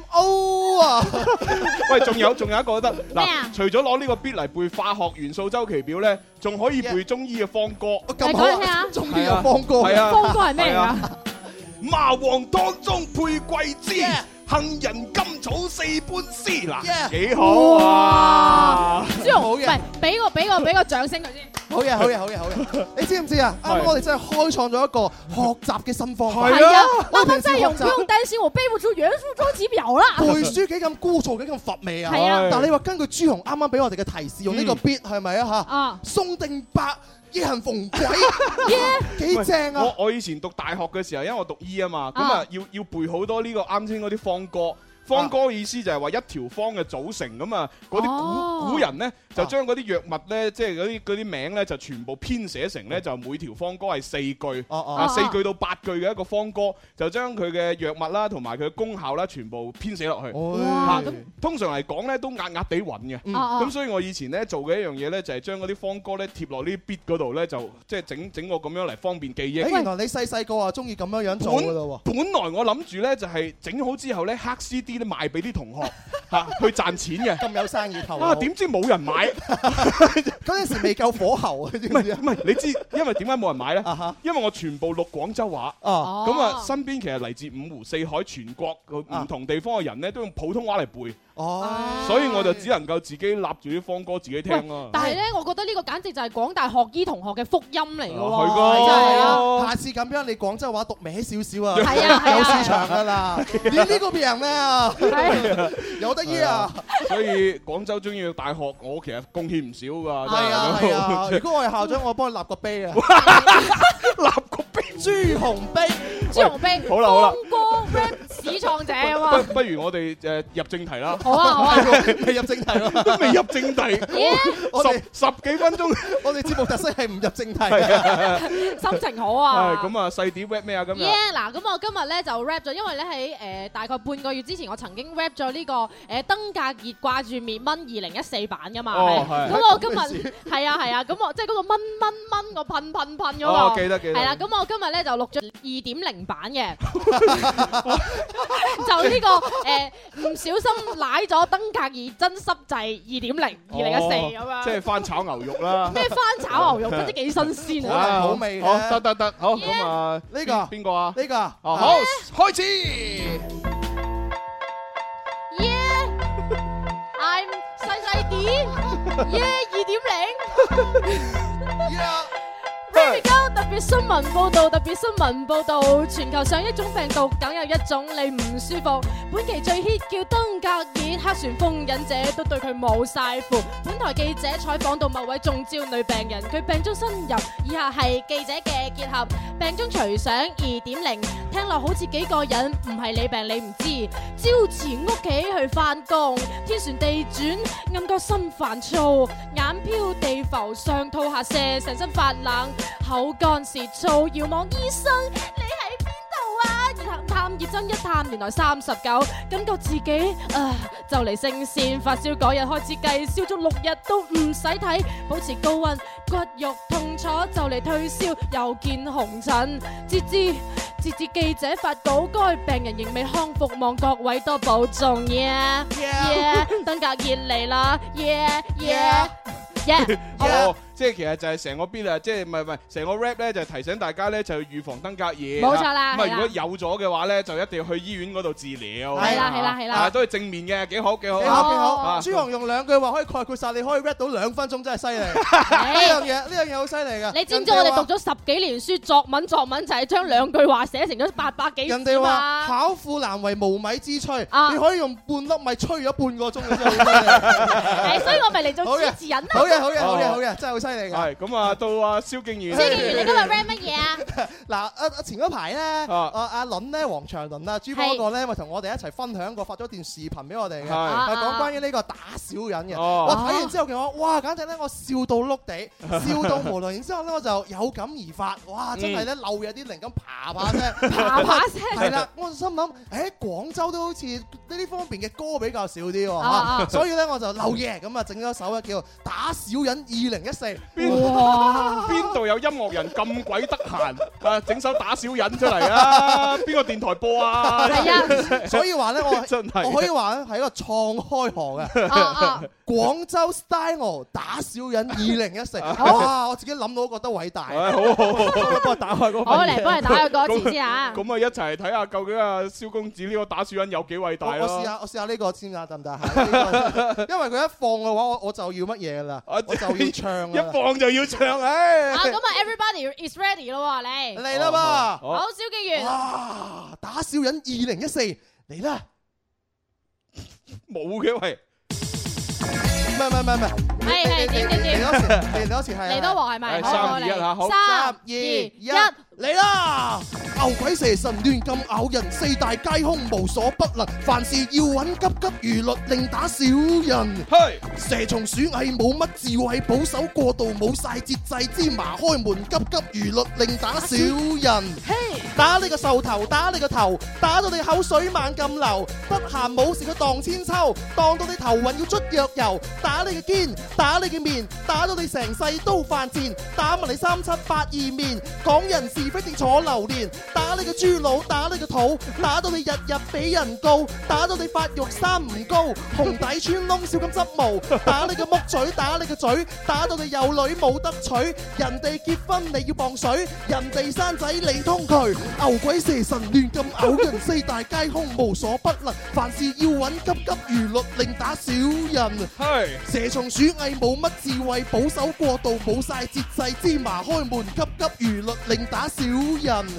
S3: O 啊！
S2: 喂，仲有一個都得嗱，除咗攞呢個 beat 嚟背化學元素周期表咧，仲可以背中醫嘅方歌。
S3: 咁好啊！中醫有方歌，
S2: 係啊，
S4: 方歌係咩啊？
S2: 麻黃當中配桂枝，杏仁甘草4般絲，嗱，幾好啊！
S4: 朱紅好嘅，唔係俾個掌聲佢先。
S3: 好嘢！你知唔知啊？啱啱我哋真係開創咗一個學習嘅新方法。
S4: 係啊，啱啱真係不用擔心我背不出元素周期表啦。
S3: 背書幾咁枯燥，幾咁乏味啊！
S4: 係啊，
S3: 但係你話根據朱紅啱啱俾我哋嘅提示，用呢個 beat 係咪啊？嚇，宋定伯夜行逢鬼，幾正啊！
S2: 我以前讀大學嘅時候，因為我讀醫啊嘛，咁啊要背好多呢個啱先嗰啲方歌。方歌意思就係話一條方嘅組成咁啊，嗰啲古人咧就將嗰啲藥物咧，即係嗰啲名咧就全部編寫成咧就每條方歌係4句，4句到8句嘅一個方歌，就將佢嘅藥物啦同埋佢嘅功效啦全部編寫落去。咁通常嚟講咧都壓壓地穩嘅，咁所以我以前咧做嘅一樣嘢咧就係將嗰啲方歌咧貼落呢啲 beat 嗰度咧，就即係整個咁樣嚟方便記憶。
S3: 原來你細個啊中意咁樣做㗎咯喎！
S2: 本來我諗住咧就係整好之後咧黑 CD。賣俾啲同學嚇去賺錢嘅，
S3: 咁有生意頭
S2: 啊！點知冇人買？
S3: 嗰陣時未夠火候啊！唔
S2: 係，你知因為點解冇人買咧？因為我全部錄廣州話，咁啊身邊其實嚟自五湖四海全國唔同地方嘅人咧，都用普通話嚟背。所以我就只能夠自己立住啲方歌自己聽咯。
S4: 但係咧，我覺得呢個簡直就係廣大學醫同學嘅福音嚟㗎喎。
S2: 係㗎，
S3: 下次咁樣你廣州話讀歪少少啊，
S4: 有
S3: 市場㗎啦。你呢個病咩啊？有得醫啊！
S2: 所以廣州中醫大學，我其實貢獻唔少㗎。
S3: 係啊！如果我係校長，我幫你立個碑啊！
S2: 立個碑，
S3: 朱紅碑。
S2: 好啦。
S4: 方歌 rap 始創者啊嘛。
S2: 不如我哋入正題啦。
S4: 好啊好啊，
S3: 未入正題喎，
S2: 都未入正題。
S3: 我哋
S2: 十幾分鐘，
S3: 我哋節目特色係唔入正題嘅。
S4: 心情好啊。
S2: 係咁啊，細碟 rap 咩啊？今日
S4: 嗱，咁我今日咧就 rap 咗，因為咧喺大概半個月之前，我曾經 rap 咗呢個登革熱掛住滅蚊2014版噶嘛。咁我今日係啊，咁我即係嗰個蚊個噴嗰個。
S2: 哦，記得。
S4: 係啦，咁我今日咧就錄咗2.0版嘅，就呢個唔小心舐咗登革熱真濕滯2.0 2014咁樣。
S2: 即係翻炒牛肉啦。
S4: 咩翻炒牛肉？真係幾新鮮啊！
S3: 好味。
S2: 好，得，好咁啊，
S3: 呢個
S2: 邊個啊？
S3: 呢個
S2: 哦，好，開始。
S4: I'm 細啲2.0。Here we go， 特別新聞報導，全球上一種病毒，梗有一種你唔舒服。本期最 hit 叫登革熱，黑旋風忍者都對佢冇晒符。本台記者採訪到某位中招女病人，佢病中身入，以下係記者嘅結合。病中隨想2.0，聽落好似幾個人，唔係你病你唔知。朝前屋企去返工，天旋地轉，暗覺心煩躁，眼飄地浮，上吐下瀉，成身發冷。口乾舌燥，遙望醫生，你喺邊度啊？然後探熱針一探，原來39，感覺自己就嚟升線，發燒嗰日開始計，燒足6日都唔使睇，保持高溫，骨肉痛楚就嚟退燒，又見紅疹。截至記者發稿，該病人仍未康復，望各位多保重。Yeah， 登革熱嚟啦 ！Yeah。
S2: 哦，即係其實就係成個 beat啊，即係唔係成個 rap 咧，就提醒大家咧就要預防登革熱。
S4: 冇錯啦。
S2: 咁啊，如果有咗嘅話咧，就一定要去醫院嗰度治療。
S4: 係啦，
S2: 都係正面嘅，幾好。
S3: 幾好。朱紅用2句話可以概括晒，你可以 rap 到2分鐘，真係犀利。呢樣嘢好犀利㗎。
S4: 你知唔知我哋讀咗10幾年書，作文就係將2句話寫成咗800幾字。
S3: 人哋話巧婦難為無米之炊，你可以用半粒米炊咗半個鐘嘅啫。
S4: 所以我咪嚟做主持人啦。
S3: 好嘅，真係好犀利㗎。
S2: 係咁啊，到阿蕭敬元。
S4: 蕭敬元，你今日 rap 乜嘢啊？
S3: 嗱，前嗰排咧，阿倫咧，黃長倫啊，珠江嗰個咧，咪同我哋一齊分享過，發咗段視頻俾我哋嘅，係講關於呢個打小人嘅。我睇完之後嘅話，哇，簡直咧，我笑到碌地，笑到無論。然之後咧，我就有感而發，哇，真係咧漏有啲靈感，啪聲。係啦，我就心諗，廣州都好似呢方面嘅歌比較少啲喎，所以咧我就漏嘢咁啊，整咗首叫打小人2014。
S2: 哇！邊度有音樂人咁鬼得閒啊？整首打小人出嚟啊！邊個電台播啊？
S4: 係啊，
S3: 所以話咧，我可以話咧係一個創開河嘅廣州 style 打小人2014。哇！我自己諗到都覺得偉大。
S2: 好，幫我打開嗰個。
S4: 我嚟幫你打個歌詞先嚇。
S2: 咁啊，一齊睇下究竟阿蕭公子呢個打小人有幾偉大咯？
S3: 我試下呢個先啊，得唔得？因為佢一放嘅話，我就要乜嘢啦？我就要唱
S2: 一放就要唱，唉！
S4: 咁啊 ，everybody is ready 咯喎，
S3: 嚟啦噃！
S4: 好，蕭敬元。
S3: 哇！打小人2014嚟啦！
S2: 冇嘅喂，
S3: 唔係，點？嚟多次係。
S4: 嚟多鑊係咪？
S2: 3、2、1嚇，好。
S3: 3、2、1。嚟啦！牛鬼蛇神亂咁咬人，四大皆空無所不能，凡事要揾急急如律，另打小人。蛇蟲鼠蟻冇乜智慧，保守過度冇晒節制，芝麻開門急急如律，另打小人。打你個獸頭，打你個頭，打到你口水猛咁流，得閒冇事佢蕩千秋，當到你頭暈要捽藥油，打你嘅肩，打你嘅面，打到你成世都犯賤，打埋你378面，講人是非定坐榴蓮，打你個豬腦，打你個肚，打到你日日俾人告，打到你發育生唔高，紅底穿窿少咁執毛，打你個木嘴，打你個嘴，打到你有女冇得娶，人哋結婚你要磅水，人哋生仔你通渠，牛鬼蛇神亂咁咬人，四大皆空無所不能，凡事要揾急急如律，另打小人。蛇蟲鼠蟻冇乜智慧，保守過度冇晒節制，芝麻開門急急如律，另打小人。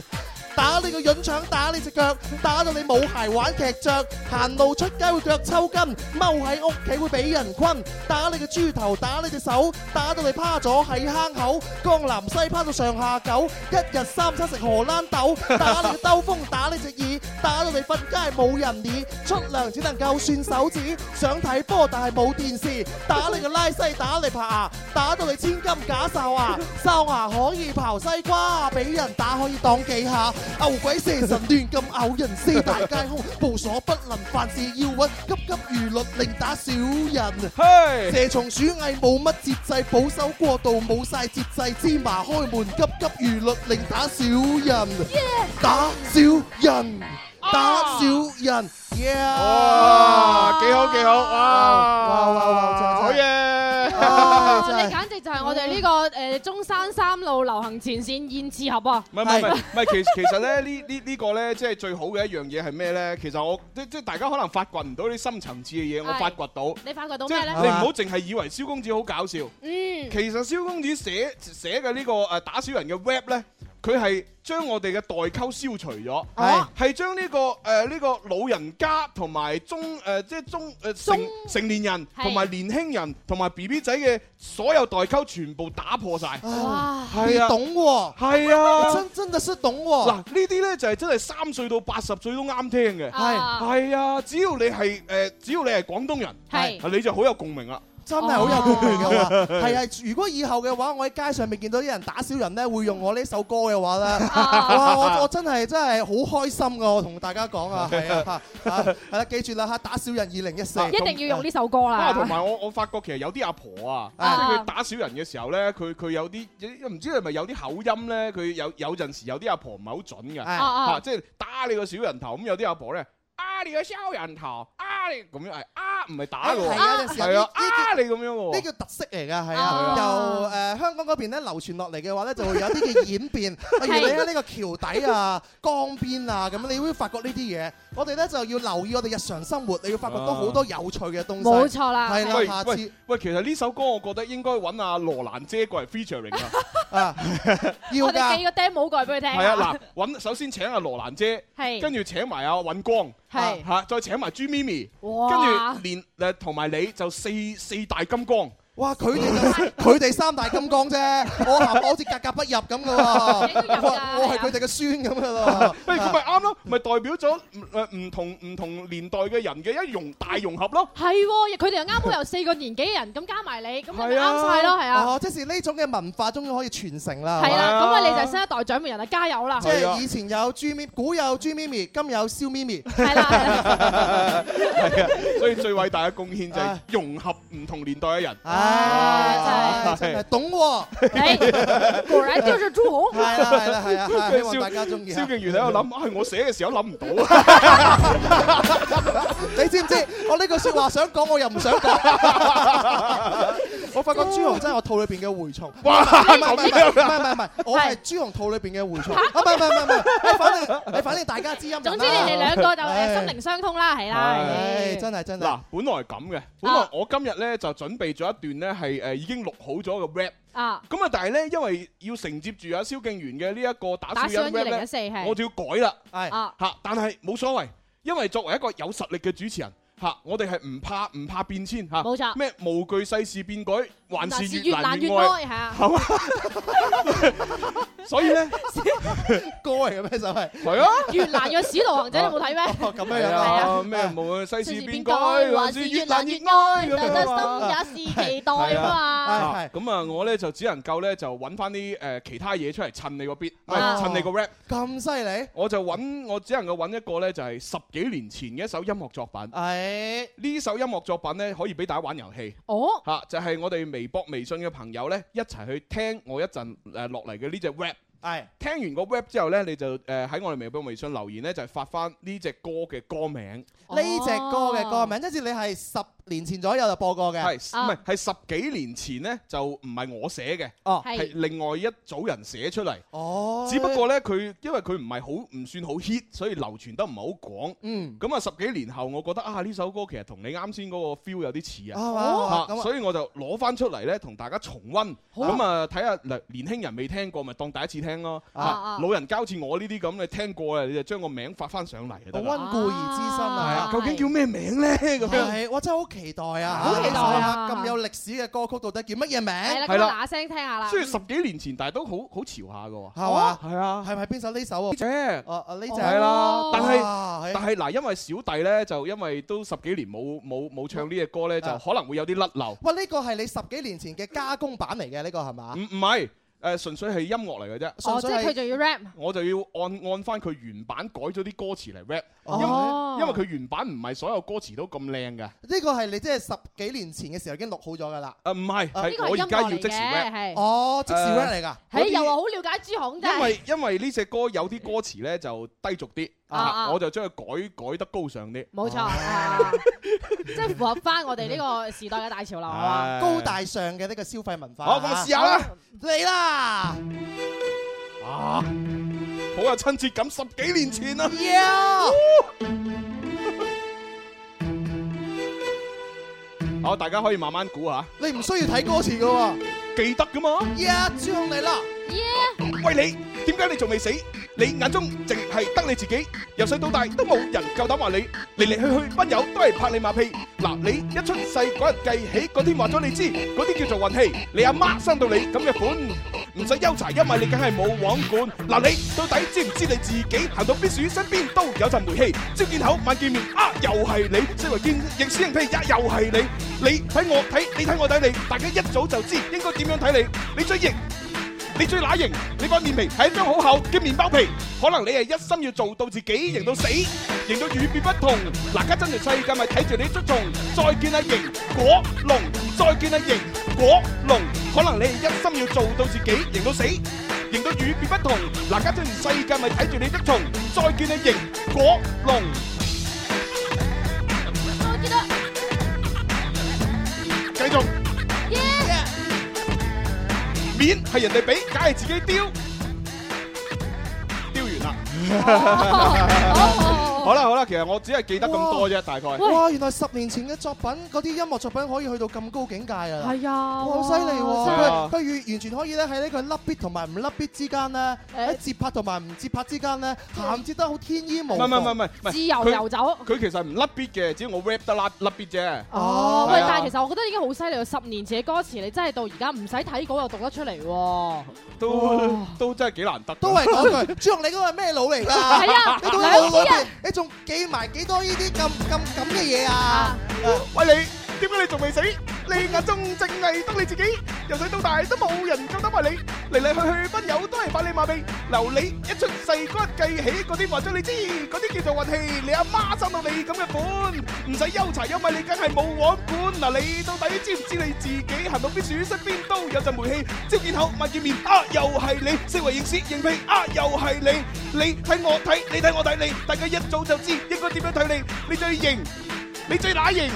S3: 打你個潤腸，打你隻腳，打到你冇鞋玩劇着，行路出街會腳抽筋，踎喺屋企會俾人困，打你個豬頭，打你隻手，打到你趴咗喺坑口，江南西趴到上下九，一日三餐食荷蘭豆，打你個兜風，打你隻耳，打到你瞓街冇人理，出糧只能夠算手指，想睇波但係冇電視，打你個拉西，打你爬牙，打到你千金假哨牙，哨牙可以刨西瓜，俾人打可以擋幾下，牛鬼蛇神亂咁咬人，四大皆空，無所不能，凡事要穩，急急如律令打小人。蛇蟲鼠蟻冇乜節制，保守過度冇晒節制，芝麻開門，急急如律令打小人，打小人，打小人。
S2: 哇，幾好幾好，
S3: 哇，
S2: 好嘢！
S4: 你簡直就係我哋呢個中山3路流行前線燕翅盒啊！
S2: 唔係，其實咧呢個咧，即係最好嘅一樣嘢係咩咧？其實我即係大家可能發掘唔到啲深層次嘅嘢，我發掘到。
S4: 你發掘到咩咧？
S2: 你唔好淨係以為蕭公子好搞笑。其實蕭公子寫嘅呢個打小人嘅 rap 咧，佢係將我哋嘅代溝消除咗，係將呢個老人家同埋成年人同埋年輕人同埋 BB 仔嘅所有代溝全部打破晒。
S3: 哇，
S2: 係啊，
S3: 懂喎，
S2: 係啊，
S3: 真係識懂喎。
S2: 嗱，呢啲咧就係真係3歲到80歲都啱聽嘅。係啊，只要你係廣東人，你就好有共鳴啦。
S3: 真係好有共鳴嘅話，係啊！如果以後嘅話，我喺街上面見到啲人打小人咧，會用我呢首歌嘅話咧，哇！我真係好開心㗎！我同大家講啊，係啊，係啦，記住啦嚇，打小人2014，
S4: 一定要用呢首歌啦。
S2: 同埋我發覺其實有啲阿婆啊，即係佢打小人嘅時候咧，佢有啲唔知係咪有啲口音咧，佢有陣時有啲阿婆唔係好準嘅，即係打你個小人頭咁，有啲阿婆咧。你個小人頭，你咁樣係唔係打嘅喎？係啊，你咁樣喎。
S3: 呢叫特色嚟㗎，係啊。由香港嗰邊咧流傳落嚟嘅話咧，就會有啲嘅演變。例如你喺呢個橋底啊、江邊啊咁，你會發覺呢啲嘢。我哋咧就要留意我哋日常生活，你要發覺到好多有趣嘅東西。冇
S4: 錯啦。
S3: 係啦，下次
S2: 喂，其實呢首歌我覺得應該揾阿羅蘭姐過嚟 featuring
S3: 啊。要㗎。
S4: 我哋寄個 demo 過嚟俾佢聽。
S2: 係啊，嗱，首先請阿羅蘭姐，跟住請埋阿尹光。係嚇，再請埋朱咪咪，跟住連同埋你就四大金剛。
S3: 哇！佢哋3大金剛啫，我好似格格不入咁嘅喎。我係佢哋嘅孫咁嘅咯。
S2: 咁咪啱咯，咪代表咗唔同年代嘅人嘅一大融合咯。
S4: 係喎，佢哋又啱好有4個年紀嘅人，咁加埋你，咁咪啱晒咯，係啊。
S3: 哦，即係呢種嘅文化終於可以傳承啦。
S4: 係啦，咁啊你就係新一代掌門人啦，加油啦！
S3: 即係以前有古有朱咪咪，今有蕭咪咪。
S4: 係啦，
S2: 係啊，所以最偉大嘅貢獻就係融合唔同年代嘅人。
S3: 真係懂喎！
S4: 果然就是朱紅。
S3: 係啦，希望大家中意。
S2: 蕭敬元喺度諗，我寫嘅時候諗唔到。
S3: 你知唔知？我呢句説話想講，我又唔想講。我發覺朱紅真係我肚裏邊嘅蛔蟲。
S2: 哇！
S3: 唔係，我係朱紅肚裏邊嘅蛔蟲。唔係，反正大家知音。
S4: 總之你哋兩個就心靈相通啦，係啦。
S3: 真係。
S2: 嗱，本來係咁嘅，本來我今日咧就準備咗一段咧係已經錄好咗嘅 rap。咁啊，但係咧因為要承接住阿蕭敬元嘅呢一個打小人 rap 咧，我就要改啦。嚇，但係冇所謂，因為作為一個有實力嘅主持人。我哋係唔怕變遷嚇，
S4: 冇錯。
S2: 咩無懼世事變改，還是越難越
S4: 愛，
S2: 係啊，係嘛？所以咧，
S3: 歌嚟嘅咩就係
S2: 係啊，
S4: 越難嘅使徒行者你冇睇咩？
S3: 咁樣啊，
S2: 咩無懼世事變改，還是越難越愛，
S4: 心也是期待啊嘛。
S2: 咁啊，我咧就只能夠咧就揾翻啲其他嘢出嚟襯你個 beat，襯你個 rap。
S3: 咁犀利？
S2: 我只能夠揾一個咧就係10幾年前嘅一首音樂作品。呢首音樂作品咧可以俾大家玩遊戲，就係我哋微博、微信嘅朋友咧一齊去聽我一陣落嚟嘅呢隻 rap。聽完個 rap 之後咧，你就喺我哋微博、微信留言咧，就係發翻呢隻歌嘅歌名。
S3: 呢隻歌嘅歌名，即係你係年前左右就播過嘅。
S2: 係唔係係10幾年前呢，就唔係我寫嘅，係另外一組人寫出嚟。哦，只不過呢，因為佢唔算好 hit，所以流傳得唔係好廣。咁啊10幾年後，我覺得啊呢首歌其實同你啱先嗰個 feel 有啲似啊，所以我就攞翻出嚟呢，同大家重溫。咁啊睇下年輕人未聽過，咪當第一次聽咯。老人家好似我呢啲咁，你聽過啊，你就將個名發翻上嚟就得啦。溫故而知新啊！究竟叫咩名咧？咁樣
S3: 我真係好期待啊！好期待啊！咁有歷史嘅歌曲到底叫乜嘢名？
S4: 係啦，嗱聲聽下啦。
S2: 雖然10幾年前，但係都好潮下嘅喎。
S3: 係嘛？
S2: 係啊。
S3: 係咪邊首呢首啊？
S2: 呢隻
S3: 呢隻
S2: 係啦。但係嗱，因為小弟咧就因為都10幾年冇唱呢隻歌咧，就可能會有啲甩漏。
S3: 喂，呢個係你10幾年前嘅加工版嚟嘅，呢個係嘛？
S2: 唔係。純粹係音樂嚟嘅啫，
S4: 即係佢就要 rap，
S2: 我就要按翻佢原版改咗啲歌詞嚟 rap，因為佢原版唔係所有歌詞都咁靚嘅。呢
S3: 個係你即係10幾年前嘅時候已經錄好咗㗎啦。
S2: 唔係，係我而家要即時 rap。
S3: 哦，即時 rap 嚟㗎。
S4: 係又話好了解朱紅啫。
S2: 因為呢隻歌有啲歌詞咧就低俗啲，我就將佢改得高尚啲。
S4: 冇錯，即係符合翻我哋呢個時代嘅大潮流啊！
S3: 高大上嘅呢個消費文化。
S2: 好，咁試下啦，
S3: 嚟啦！
S2: 好有親切感，10幾年前啊！好，大家可以慢慢估下。
S3: 你唔需要睇歌詞噶喎，
S2: 記得噶嘛？
S3: 朱紅嚟啦！
S2: 喂，你點解你仲未死？你眼中淨係得你自己，由細到大都冇人夠膽話你，嚟嚟去去班友都係拍你馬屁。嗱，你一出世嗰日計起，嗰天話咗你知，嗰啲叫做運氣。你阿媽生到你咁嘅款，唔使憂柴，因為你梗係冇王管。嗱，你到底知唔知你自己行到邊處身邊都有陣霉氣？朝見口晚見面啊，又係你；四圍見認屎認屁呀，又係你。你睇我睇，你睇我睇你，大家一早就知應該點樣睇你。你最型。你最乸型，你塊面皮係一張好厚嘅麵包皮，可能你係一心要做到自己型到死，型到與別不同。嗱，家真係世界咪睇住你捉蟲，再見阿型果龍，再見阿型果龍，可能你係一心要做到自己型到死，型到與別不同。嗱，家真係世界咪睇住你捉蟲，再見阿型果龍。
S4: 我記得，
S2: 繼續。面係人哋俾，梗係自己丟。丟完啦。好啦，其實我只係記得咁多啫，大概。
S3: 哇，原來10年前嘅作品，嗰啲音樂作品可以去到咁高境界啊！
S4: 係啊，
S3: 好犀利喎！佢完全可以咧喺呢個甩 beat 同埋唔甩 beat之間咧，喺節拍同埋唔節拍之間咧，銜接得好天衣無縫。
S2: 唔係，
S4: 自由遊走。佢
S2: 其實唔甩 beat 嘅，只要我 rap 得甩 beat 啫。
S4: 哦，喂，但係其實我覺得已經好犀利喎！10年前嘅歌詞，你真係到而家唔使睇稿又讀得出嚟喎。
S2: 都真係幾難得。
S3: 都係講句，朱紅你嗰個係咩腦嚟㗎？
S4: 係啊，
S3: 你個腦裏邊，你仲記埋幾多呢啲咁嘅嘢啊？
S2: 喂，你點解你仲未死？你眼中淨係得你自己，由細到大都冇人夠膽話你，嚟嚟去去班友都係拍你馬屁。留你一出世嗰日計起，嗰啲話咗你知，嗰啲叫做運氣。你阿媽生到你咁嘅款，唔使憂柴，因為你梗係冇王管。嗱，你到底知唔知你自己行到邊處身邊都有陣霉氣？朝見口晚見面啊，又係你；四圍認屎認屁啊，又係你。你睇我睇，你睇我睇你，大家一早就知應該點樣睇你。你最型，你最乸型。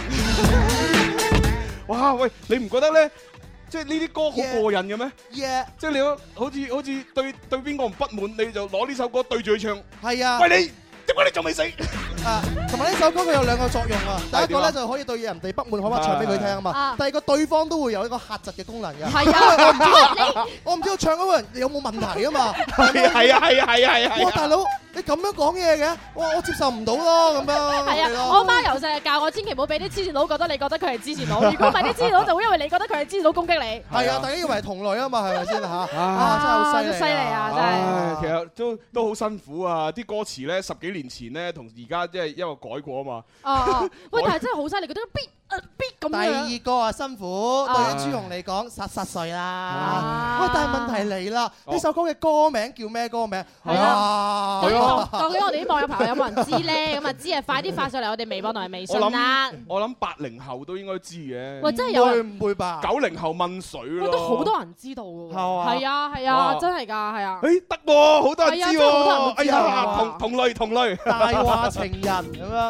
S2: 哇，喂，你唔覺得咧？即係呢啲歌好過癮嘅咩？即係你好似對邊個唔不滿，你就攞呢首歌對住佢唱。
S3: 係啊。
S2: 喂，你點解你仲未死？
S3: 同埋呢首歌佢有2個作用啊。第一個咧就可以對人哋不滿，可以唱俾佢聽啊嘛。第二個對方都會有一個嚇窒嘅功能嘅。係啊。我唔知道唱嗰個人有冇問題啊嘛。
S2: 係啊。
S3: 哇，大佬！你咁樣講嘢嘅，我接受唔到咯，咁樣。
S4: 係啊，我媽由細教我千祈唔好俾啲黐線佬覺得你覺得佢係黐線佬，如果唔係啲黐線佬就會因為你覺得佢係黐線佬攻擊你。
S3: 係啊，大家以為係同類啊嘛，係咪先嚇？真係好犀利啊！
S4: 真係。
S2: 其實都好辛苦啊！啲歌詞咧10幾年前咧同而家即係因為改過啊嘛。
S4: 喂，但係真係好犀利，覺得咁樣。
S3: 第二個啊辛苦，對於朱紅嚟講實碎啦。喂，但係問題嚟啦，呢首歌嘅歌名叫咩歌名？
S4: 係啊。究竟我哋啲網友朋友有冇人知咧？咁啊知啊，快啲發上嚟我哋微博同埋微信啦。
S2: 我諗80後都應該知嘅。
S4: 喂，真係有人
S3: 唔會吧
S2: ？90後問水咯。
S4: 都好多人知道嘅喎。係啊，真係㗎，係啊。
S2: 誒得喎，好多人知喎。
S4: 哎呀，
S2: 同類。
S3: 大話情人咁樣。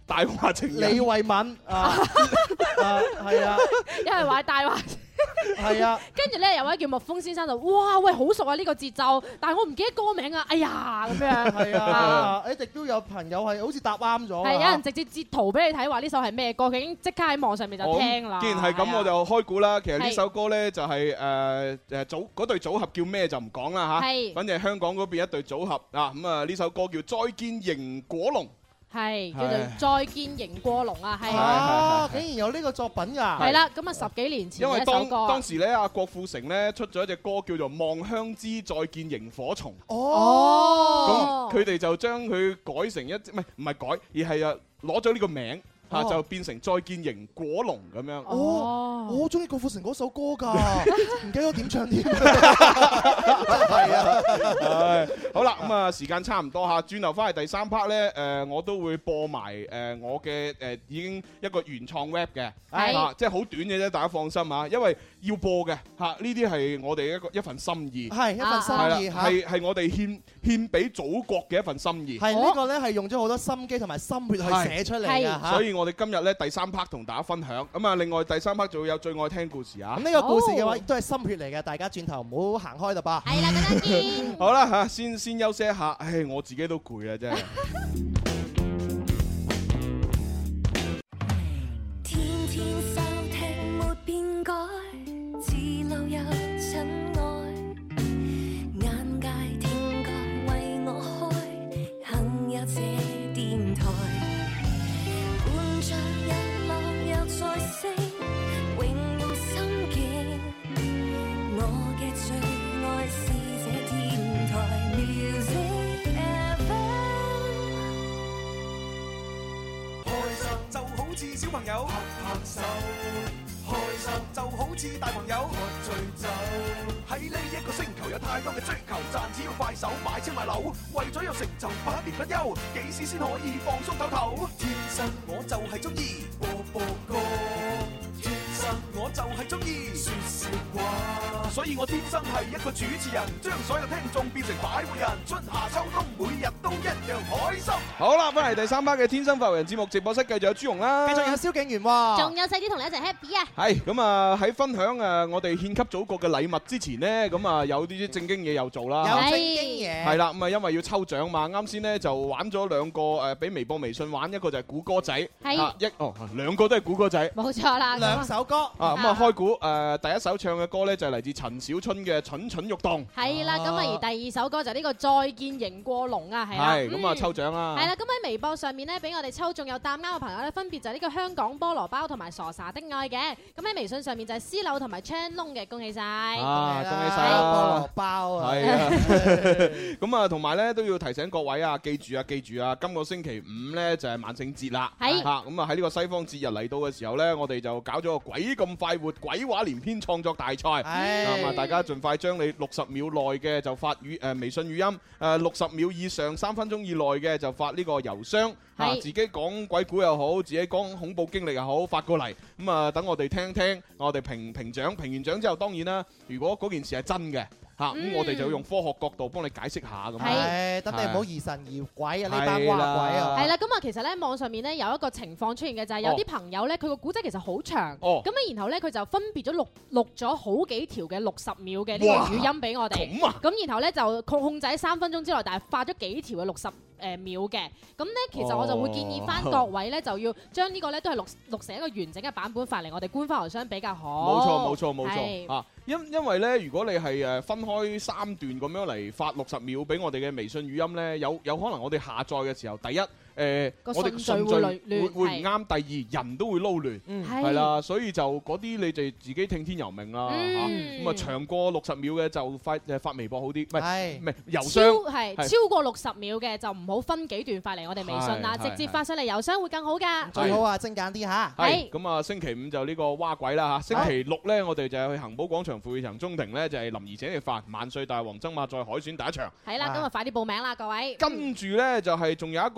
S2: 大話情人
S3: 李慧敏啊，係啊，
S4: 有人話大話。
S3: 係啊，
S4: 跟住咧有位叫蜜蜂先生就哇喂好熟啊呢個節奏，但係我唔記得歌名啊，哎呀咁樣。
S3: 係啊，一直都有朋友係好似答啱咗。
S4: 係有人直接截圖俾你睇話呢首係咩歌，佢已經即刻喺網上面就聽啦。
S2: 既然係咁，我就開估啦。其實呢首歌咧就係嗰隊組合叫咩就唔講啦嚇。係，反正係香港嗰邊一隊組合啊。咁啊呢首歌叫《再見螢果龍》。係
S4: 叫做再見螢過龍啊，係
S3: 啊，竟然有呢個作品㗎，
S4: 係啦，咁啊10幾年前嘅一首歌。
S2: 因為當時咧，阿郭富城咧出咗一隻歌叫做《望鄉之再見螢火蟲》。
S3: 哦，
S2: 咁佢哋就將佢改成唔係改，而係攞咗呢個名。就變成再見螢果龍咁樣。
S3: 哦，我好中意郭富城嗰首歌㗎，唔記得點唱添。
S2: 係啊，好啦，咁啊時間差唔多嚇，轉頭翻嚟第三 part 咧，我都會播埋我嘅已經一個原創 rap 嘅，即係好短嘅啫，大家放心啊，因為要播嘅嚇，呢啲係我哋一份心意，
S3: 係一份心意嚇，
S2: 係我哋獻俾祖國嘅一份心意。
S3: 係呢個咧係用咗好多心機同埋心血去寫出嚟嘅嚇，
S2: 所以我哋今日咧第三 part 同大家分享，咁啊另外第三 part 仲會有最愛聽故事啊。
S3: 咁呢個故事嘅話亦都係心血嚟嘅，大家轉頭唔好行開啦吧。
S9: 係啦，大家見。
S2: 好啦嚇，先休息一下，唉，我自己都攰啊真係。
S5: 天天收聽沒變改，自路有塵埃，眼界聽覺為我開，幸有這電台。日落又再升，永用心境。我嘅最愛是這電台 Music FM。
S8: 開心就好似小朋友拍拍手，開心就好似大朋友喝醉酒。喺呢一個星球有太多嘅追求，賺錢要快手買車買樓，為咗有成就百年不休，幾時先可以放鬆唞唞？天生我就係中意播播歌，天生我就係中意説笑話，所以我天生係一個主持人，將所有聽眾變成擺活人，春夏秋冬每日都一樣開心。
S2: 好啦，翻嚟第三 part 嘅天生快活人節目直播室，繼續有朱紅啦，
S3: 繼續有蕭敬元喎，
S9: 仲有細啲同你一齊 happy 啊！
S2: 係咁啊！喺分享我哋獻給祖國嘅禮物之前呢，咁啊有啲正經嘢又做啦，
S3: 有正經嘢
S2: 係啦，咁啊因為要抽獎嘛，啱先呢就玩咗兩個俾微博微信玩，一個就係估歌仔，兩個都係估歌仔，
S4: 冇錯啦，
S3: 兩首歌
S2: 啊咁啊開估第一首唱嘅歌呢就係嚟自陳小春嘅《蠢蠢欲動》，
S4: 係啦，咁啊而第二首歌就係呢個《再見螢過龍》啊，係啦，
S2: 咁啊抽獎啦，
S4: 係啦，咁喺微博上面呢，俾我哋抽中有答啱嘅朋友呢，分別就係呢個香港菠蘿包同埋傻傻的愛嘅，咁喺微信上面就係絲柳同埋 Chan 嘅，恭喜晒！
S2: 恭喜晒
S3: 菠蘿包啊！
S2: 係啊，咁啊同埋咧都要提醒各位啊，記住啊，今個星期五咧就係萬聖節啦，
S4: 係
S2: 咁啊喺呢個西方節日嚟到嘅時候咧，我哋就搞咗個鬼咁快活鬼話連篇創作大賽，咁啊大家盡快將你60秒內嘅就發微信語音，60秒以上3分鐘以內嘅就發呢個郵箱，自己講鬼故又好，自己講恐怖經歷又好，發過嚟，咁啊等我哋聽，我哋評獎，評完獎之後，當然啦，如果嗰件事係真嘅。咁我哋就用科學角度幫你解釋下咁。
S3: 係，等你唔好疑神疑鬼啊！呢班話鬼啊！
S4: 係啦，咁啊，其實咧網上面咧有一個情況出現嘅就係有啲朋友咧，佢個古仔其實好長，咁啊，然後咧佢就分別咗錄咗好幾條嘅60秒嘅呢個語音俾我哋。咁然後咧就控制喺3分鐘之內，但係發咗幾條嘅60秒嘅。咁咧其實我就會建議翻各位咧就要將呢個咧都係錄成一個完整嘅版本發嚟我哋官方郵箱比較好。
S2: 冇錯。因為咧，如果你係分開3段咁樣嚟發60秒俾我哋嘅微信語音咧，有可能我哋下載嘅時候，第一我哋順序會唔啱，第二人都會撈亂，係啦，所以就嗰啲你哋自己聽天由命啦，咁啊長過60秒嘅就發微博好啲，唔係郵箱
S4: 超過60秒嘅就唔好分幾段發嚟我哋微信啦，直接發上嚟郵箱會更好㗎，
S3: 最好啊精簡啲嚇。
S2: 係咁啊，星期五就呢個蛙鬼啦嚇，星期六咧我哋就係去恒寶廣場富裕城中庭咧就係林兒請食飯，萬歲大王爭霸賽海選第一場。
S4: 係啦，今日快啲報名啦各位。
S2: 跟住咧就係仲有一個就係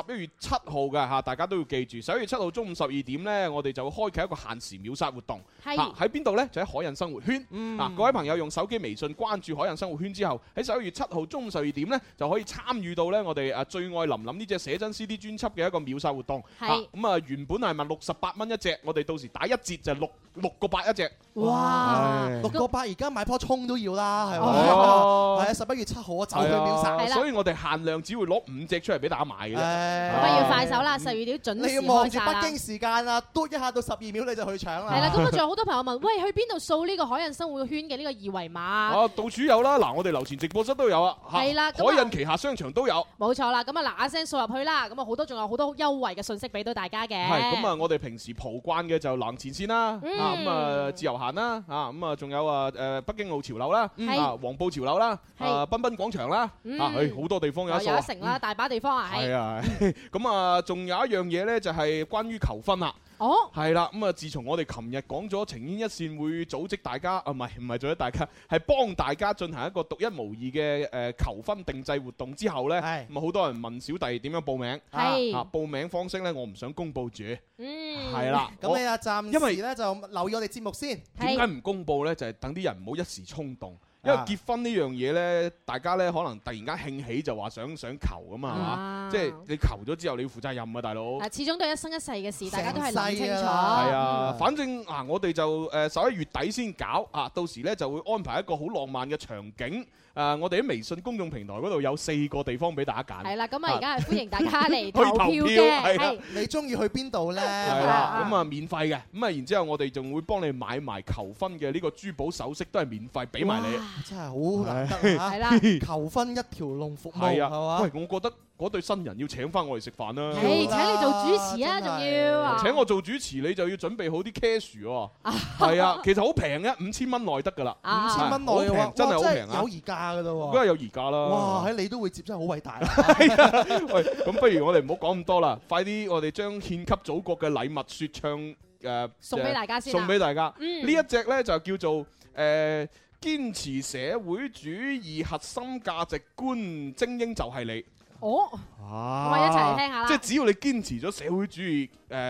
S2: 11月7號嘅嚇，大家都要記住11月7號中午12點呢，我哋就會開啟一個限時秒殺活動。喺邊度呢？就喺海印生活圈。各位朋友用手機微信關注海印生活圈之後，喺11月7號中午12點呢，就可以參與到呢我哋最愛琳琳呢隻寫真 CD 專輯嘅一個秒殺活動。咁原本係問68蚊一隻，我哋到時打一折就6個8一隻。
S3: 哇！6個8而家買棵葱都要啦，係咪？係啊！11月7號我就去秒殺，
S2: 所以我哋限量只會攞5隻出嚟俾大家買嘅啫。
S4: 咁啊要快手啦，12點準時開曬啦。
S3: 你要望住北京時間啊，嘟一下到12秒你就去搶啦。
S4: 係啦，咁啊仲有好多朋友問，喂，去邊度掃呢個海印生活圈嘅呢個二維碼？
S2: 到處有啦，嗱，我哋樓前直播室都有啊。
S4: 係啦，
S2: 海印旗下商場都有。
S4: 冇錯啦，咁啊嗱嗱聲掃入去啦，咁啊仲有好多優惠嘅信息俾到大家嘅。
S2: 係，咁啊我哋平時蒲慣嘅就冷前線啦，咁啊自由行啦，咁啊仲有北京路潮流啦，黃埔潮流啦，彬彬廣場啦，好多地方有。
S4: 有一城啦，大把地方啊。
S2: 係啊，咁啊仲有一樣嘢咧，就係關於求婚啦。係啦，咁啊自從我哋琴日講咗情牽一線會組織大家，唔係組織大家，係幫大家進行一個獨一無二嘅求婚定製活動之後咧，咁啊好多人問小弟點樣報名，報名方式咧我唔想公佈住，係啦，
S3: 咁你啊暫時咧就留意我哋節目先。
S2: 點解唔公佈咧？就係等啲人唔好一時衝動。因為結婚呢樣嘢呢，大家呢可能突然間興起就話想求咁嘛，係嘛？即係你求咗之後你要負責任啊，大佬。
S4: 始終都係一生一世嘅事，大家都係諗清楚。係
S2: 啊，反正我哋就11月底先搞啊，到時呢就會安排一個好浪漫嘅場景。我哋喺微信公眾平台嗰度有4個地方俾大家揀。係
S4: 啦，咁啊而家係歡迎大家嚟投票嘅。係，
S3: 你中意去邊度呢？
S2: 係啦，咁啊免費嘅，咁啊然之後我哋仲會幫你買埋求婚嘅呢個珠寶首飾，都係免費俾埋你。
S3: 真係好難得嚇！係啦，求婚一條龍服務係嘛？
S2: 喂，我覺得嗰對新人要請翻我嚟食飯啦。
S4: 請你做主持啊，仲要
S2: 請我做主持，你就要準備好啲 cash 喎。係啊，其實好平嘅，5000蚊內得㗎啦。
S3: 5000蚊內嘅話，
S2: 真係好平啊！
S3: 有而家㗎啦喎，
S2: 梗係有而家啦。
S3: 哇！喺你都會接，真係好偉大。
S2: 喂，咁不如我哋唔好講咁多啦，快啲我哋將獻給祖國嘅禮物説唱
S4: 送俾大家先。
S2: 送俾大家。呢一隻咧就叫做堅持社會主義核心價值觀，精英就係你。
S4: 咁我一齊嚟聽下啦。
S2: 即係只要你堅持咗社會主義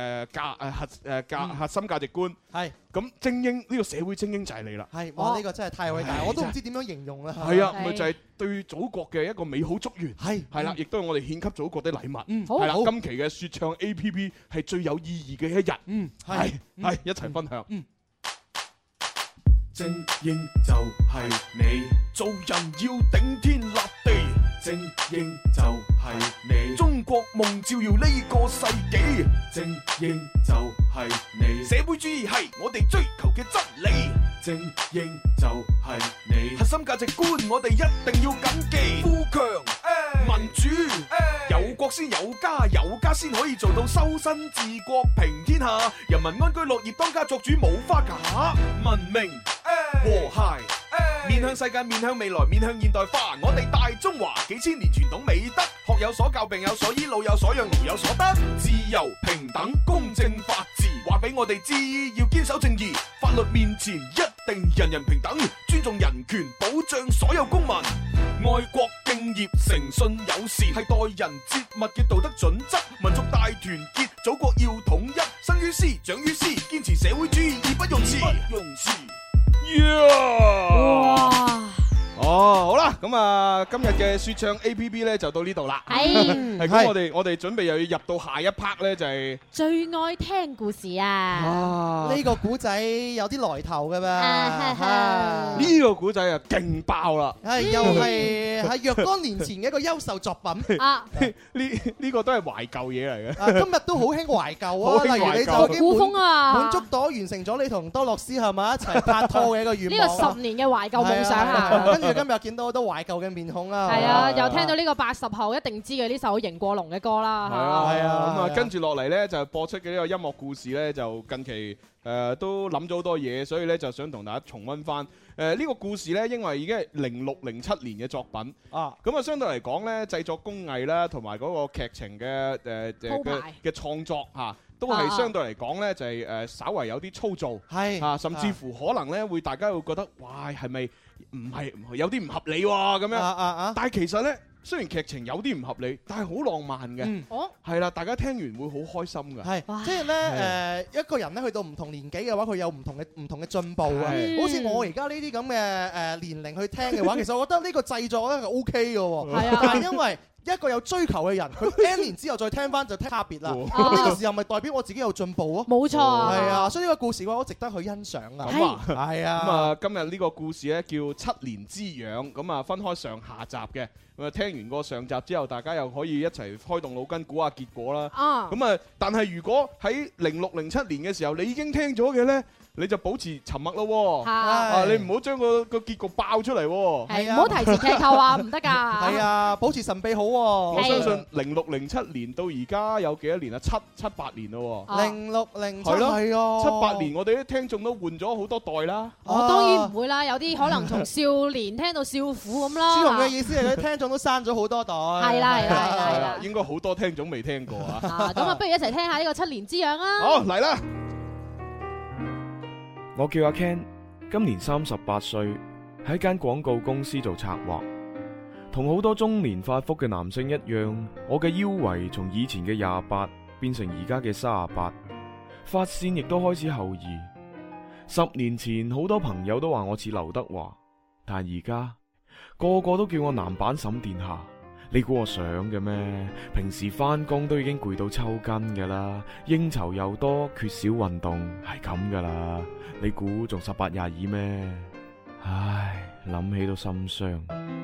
S2: 核心價值觀，係咁精英呢個社會精英就係你啦。
S3: 係，哇！呢個真係太偉大，我都唔知點樣形容啦。
S2: 係啊，咪就係對祖國嘅一個美好祝願。係啦，亦都係我哋獻給祖國的禮物。係啦，今期嘅説唱 APP 係最有意義嘅一日。係一齊分享。
S8: 精英就係你，做人要頂天立地。精英就係你，中國夢照耀呢個世紀。精英就係你，社會主義係我哋追求嘅真理。精英就係你，核心價值觀我哋一定要謹記。富強民主，有國先有家，有家先可以做到修身治國平天下，人民安居樂業，當家作主冇花假。文明和諧，面向世界，面向未來，面向現代化。我哋大中華幾千年傳統美德，學有所教，病有所醫，老有所養，勞有所得。自由平等公正法治，話俾我哋知要堅守正義，法律面前一定人人平等，尊重人權，保障所有公民。愛國敬業，誠信友善，係待人接物嘅道德準則。民族大團結，祖國要統一，生於斯，長於斯，堅持社會主義，義不容辭。
S2: 好啦，咁啊，今日嘅説唱 APP 咧就到呢度啦。係咁，我哋準備又要入到下一 part 咧，就係
S4: 最愛聽故事啊！
S3: 呢個古仔有啲來頭嘅噃，
S2: 呢個古仔啊勁爆啦！
S3: 又係若干年前嘅一個優秀作品啊！
S2: 呢個都係懷舊嘢嚟嘅。
S3: 今日都好興懷舊啊！例如你就已經滿足到完成咗你同多樂斯係咪一齊拍拖嘅一個願望。
S4: 呢個10年嘅懷舊夢想啊！
S3: 跟住今日見到好多懷舊嘅面孔啦。
S4: 係啊，又聽到呢個80後一定知嘅呢首迎過龍嘅歌啦。
S2: 係啊，咁啊跟住落嚟咧就播出嘅呢個音樂故事咧，就近期都諗咗好多嘢，所以咧就想同大家重溫翻。呢個故事咧，因為已經係06、07年嘅作品啊，咁啊相對嚟講咧，製作工藝啦，同埋嗰個劇情嘅嘅創作嚇，都係相對嚟講咧就係稍為有啲粗糙，係啊，甚至乎可能咧會大家會覺得，哇，係咪唔係有啲唔合理喎咁樣？但係其實咧雖然劇情有啲唔合理，但係好浪漫嘅。係啦，大家聽完會好開心㗎。
S3: 係，即係咧一個人咧去到唔同年紀嘅話，佢有唔同嘅進步啊。好似我而家呢啲咁嘅年齡去聽嘅話，其實我覺得呢個製作咧係 OK 嘅喎。係啊，但係因為一個有追求嘅人，佢 N 年之後再聽翻就聽差別啦。咁呢個時候咪代表我自己有進步咯？冇錯，係啊，所以呢個故事嘅話，好值得去欣賞啊。
S2: 咁啊，
S3: 係啊。
S2: 咁啊，今日呢個故事咧叫《7年之癢》，咁啊分開上下集嘅。咁啊，聽完個上集之後，大家又可以一齊開動腦筋估下結果啦。咁啊，但係如果喺06、07年嘅時候，你已經聽咗嘅咧，你就保持沉默咯。你唔好將個結局爆出嚟。
S4: 係啊，唔好提前劇透啊，唔得㗎。
S3: 係啊，保持神秘好。
S2: 我相信06、07年到而家有幾多年啊？7、8年咯。
S3: 06、07
S2: 係咯，
S3: 係啊
S2: ，7、8年我哋啲聽眾都換咗好多代啦。
S4: 我當然唔會啦，有啲可能從少年聽到少婦咁啦。
S3: 朱紅嘅意思係佢聽眾都刪咗好多代。
S4: 係啦，
S2: 應該好多聽眾未聽過啊。
S4: 咁啊，不如一齊聽下呢個7年之癢啦。
S2: 好，嚟啦！
S10: 我叫阿 Ken， 今年38歲，喺間廣告公司做策劃。同好多中年發福嘅男性一樣，我嘅腰圍從以前嘅28變成而家嘅38，髮線亦都開始後移。10年前好多朋友都話我似劉德華，但而家個個都叫我男版沈殿霞。你估我想嘅咩？平時返工都已經攰到抽筋噶啦，應酬又多，缺少運動，係咁噶啦。你估仲18、22咩？唉，諗起都心傷。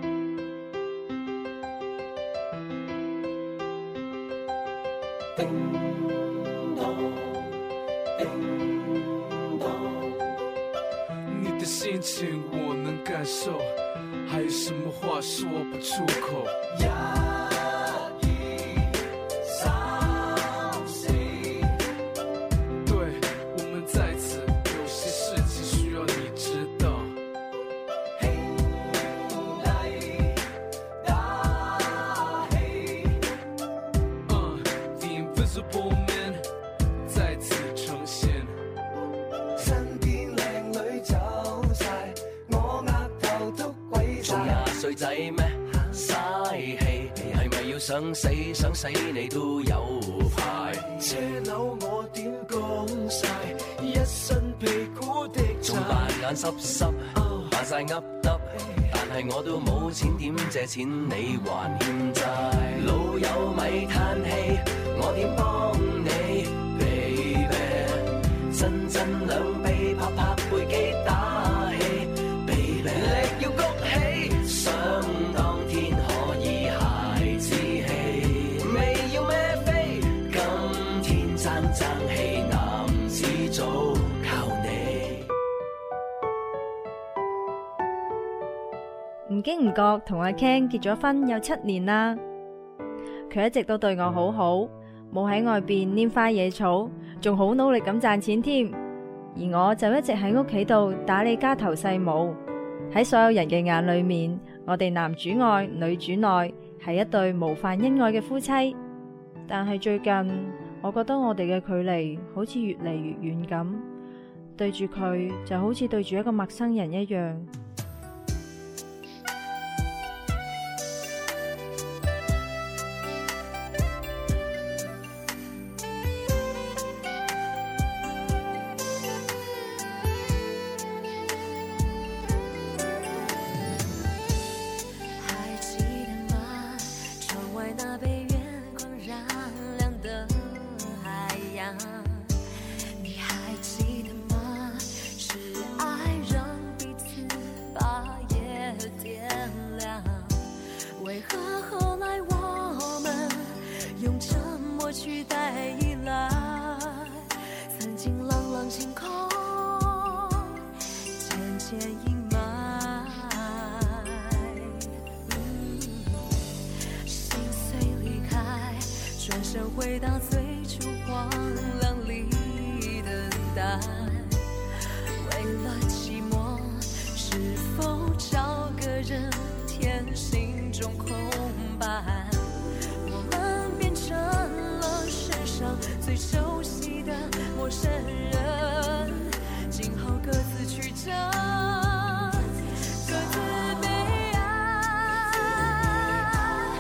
S11: 叮咚，叮咚，你的心情我能感受，還有什麼話說不出口？壓抑、傷心，對，我們在此，有些事情需要你知道。The invisible man 再次呈現，身邊靚女走晒，我額頭都鬼晒。仲廿歲仔咩？嘥氣，係咪要想死想死你都有排？車樓我點講晒，一身屁股的仲扮眼濕濕，扮晒噏噏，但係我都冇錢點借錢你還欠債。老友咪嘆氣，我點幫你 ，baby， 真兩臂拍拍背肌打氣 ，baby， 力要谷起，想當天可以孩子氣，未要孭飛，今天爭氣，男子早靠你。
S12: 唔經唔覺同阿 Ken 結咗婚有7年啦，佢一直都對我好好，冇喺外邊拈花惹草，仲好努力咁賺錢添。而我就一直喺屋企度打理家頭細務。喺所有人嘅眼裏面，我哋男主外女主內，係一對模範恩愛嘅夫妻。但係最近，我覺得我哋嘅距離好似越嚟越遠咁，對住佢就好似對住一個陌生人一樣。
S5: 回到最初荒凉里等待，为了寂寞，是否找个人填心中空白？我们变成了世上最熟悉的陌生人，今后各自曲折，各自悲哀。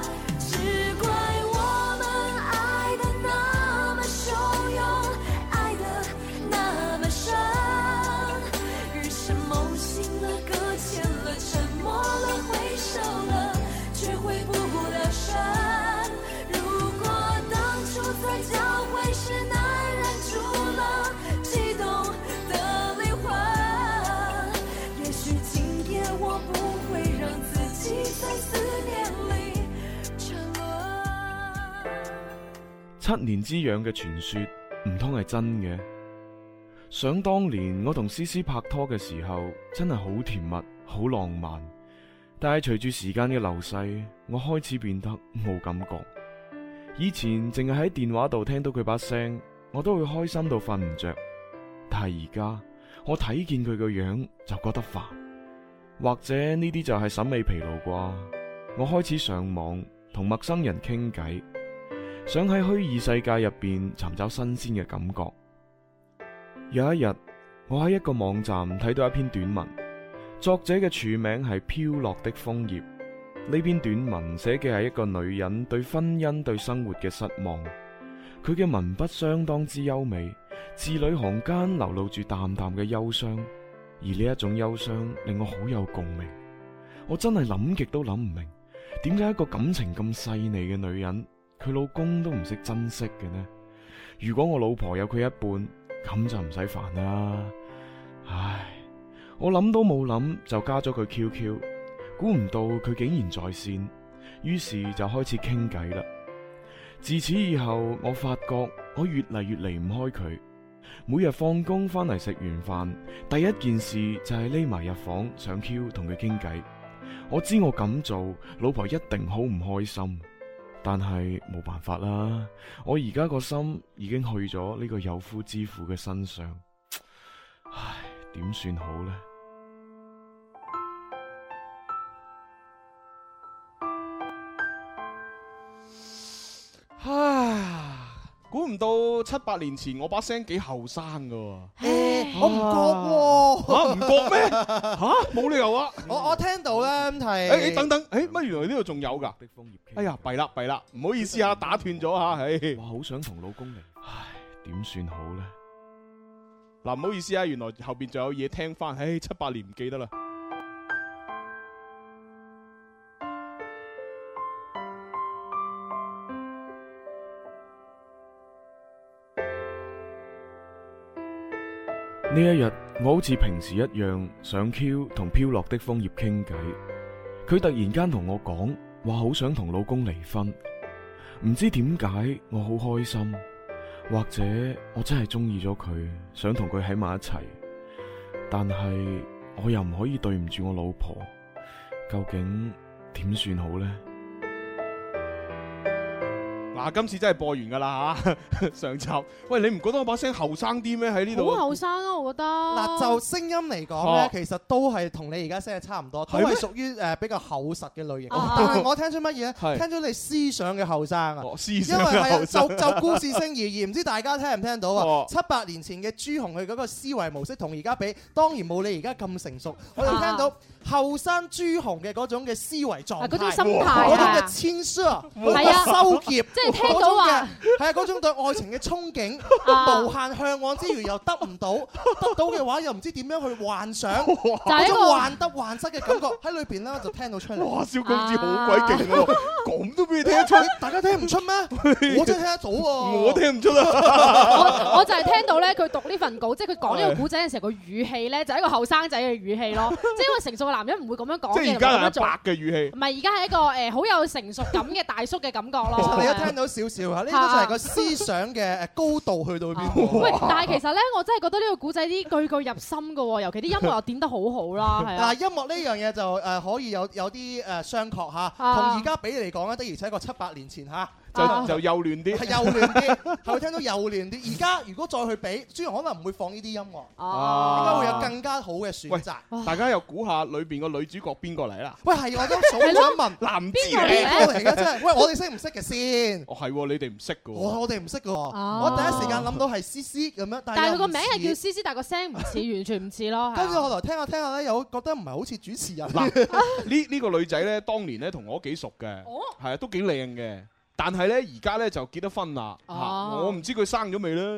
S5: 親了，擱淺了，沉默了，回首了，卻回不了神。如果當初在交會時難忍住了激動的靈魂，也許今天我不會讓自己在思念裡沉淪。
S10: 7年之癢嘅傳說唔通係真嘅？想當年我同思思拍拖嘅時候，真係好甜蜜，好浪漫。但係隨住時間嘅流逝，我開始變得冇感覺。以前淨係喺電話度聽到佢把聲，我都會開心到瞓唔着。但係而家我睇見佢個樣就覺得煩，或者呢啲就係審美疲勞啩。我開始上網同陌生人傾偈，想喺虛擬世界入邊尋找新鮮嘅感覺。有一日，我喺一個網站睇到一篇短文，作者嘅署名係飄落的楓葉。呢篇短文寫嘅係一個女人對婚姻、對生活嘅失望。佢嘅文筆相當之優美，字裏行間流露住淡淡嘅憂傷，而呢一種憂傷令我好有共鳴。我真係諗極都諗唔明，點解一個感情咁細膩嘅女人，佢老公都唔識珍惜嘅呢？如果我老婆有佢一半，咁就唔使煩啦。唉，我諗都冇諗就加咗佢 QQ， 估唔到佢竟然在線，於是就開始傾偈啦。自此以後，我發覺我越嚟越離唔開佢。每日放工翻嚟食完飯，第一件事就係匿埋入房上 Q 同佢傾偈。我知我咁做，老婆一定好唔開心。但係冇辦法啦，我而家個心已經去咗呢個有夫之婦嘅身上，唉，點算好呢？
S2: 唉，估唔到7、8年前我把聲幾後生噶。
S3: 我唔覺喎。
S2: 吓，唔覺咩？吓，冇理由啊！
S3: 我聽到咧係。
S2: 等等，乜原來呢度仲有噶？哎呀，弊啦，唔好意思啊，打斷咗吓。
S10: 我好想同老公離，唉，點算好呢？
S2: 嗱，唔好意思啊，原來後邊仲有嘢聽翻。7、8年唔記得啦。
S10: 呢一日，我好似平時一樣上 Q 同飄落的楓葉傾偈，佢突然間同我講話好想同老公離婚，唔知點解我好開心，或者我真係中意咗佢，想同佢喺埋一齊，但係我又唔可以對唔住我老婆，究竟點算好呢？
S2: 嗱，今次真係播完噶啦吓，上集。喂，你唔覺得我把聲後生啲咩？喺呢度
S4: 好後生啊，我覺得。
S3: 嗱，就聲音嚟講咧，其實都係同你而家聲係差唔多，都係屬於比較厚實嘅類型。但係我聽出乜嘢咧？聽咗你思想嘅後生啊！
S2: 思想嘅後生。
S3: 因為就故事性而言，唔知大家聽唔聽到啊？7、8年前嘅朱紅佢嗰個思維模式同而家比，當然冇你而家咁成熟。我哋聽到後生朱紅嘅嗰種嘅思維狀態，
S4: 嗰種心態，
S3: 嗰種嘅謙虛，嗰種收結。
S4: 聽到話
S3: 係啊，嗰種對愛情嘅憧憬，無限向往之餘又得唔到，得到嘅話又唔知點樣去幻想，嗰種患得患失嘅感覺喺裏邊咧，我就聽到出嚟。
S2: 哇，蕭公子好鬼勁喎，咁都俾你聽得出，
S3: 大家聽唔出咩？我真係聽得到喎，
S2: 我聽唔出啊！
S4: 我就係聽到咧，佢讀呢份稿，即係佢講呢個古仔嘅時候，個語氣咧就係一個後生仔嘅語氣咯，即係因為成熟嘅男人唔會咁樣講嘅，
S2: 即係而家係阿伯嘅語氣，
S4: 唔係而家係一個好有成熟感嘅大叔嘅感覺咯。
S3: 你一聽到少少啊，呢個就係個思想嘅高度去到邊。
S4: 喂，但係其實咧，我真係覺得呢個古仔啲句句入心㗎喎，尤其啲音樂又點得好好啦，係啊。
S3: 嗱，音樂呢樣嘢就可以有啲相確嚇，同而家比嚟講咧，的而且確7、8年前嚇。
S2: 就幼嫩啲，
S3: 係幼嫩啲，係會聽到幼嫩啲。而家如果再去比，朱紅可能唔會放呢啲音樂，應該會有更加好嘅選擇。
S2: 大家又估下裏邊個女主角邊個嚟啦？
S3: 喂，係我都想問，
S2: 男字
S3: 邊個嚟嘅真係？喂，我哋識唔識嘅先？
S2: 哦，係你哋唔識嘅喎。
S3: 我哋唔識嘅喎。我第一時間諗到係思思咁樣，
S4: 但係佢個名係叫思思，但係個聲唔似，完全唔似咯。
S3: 跟住後來聽下咧，又覺得唔係好似主持人。
S2: 呢個女仔咧，當年咧同我幾熟嘅，係啊，都幾靚嘅。但係咧，而家咧就結咗婚啦。我唔知佢生咗未咧。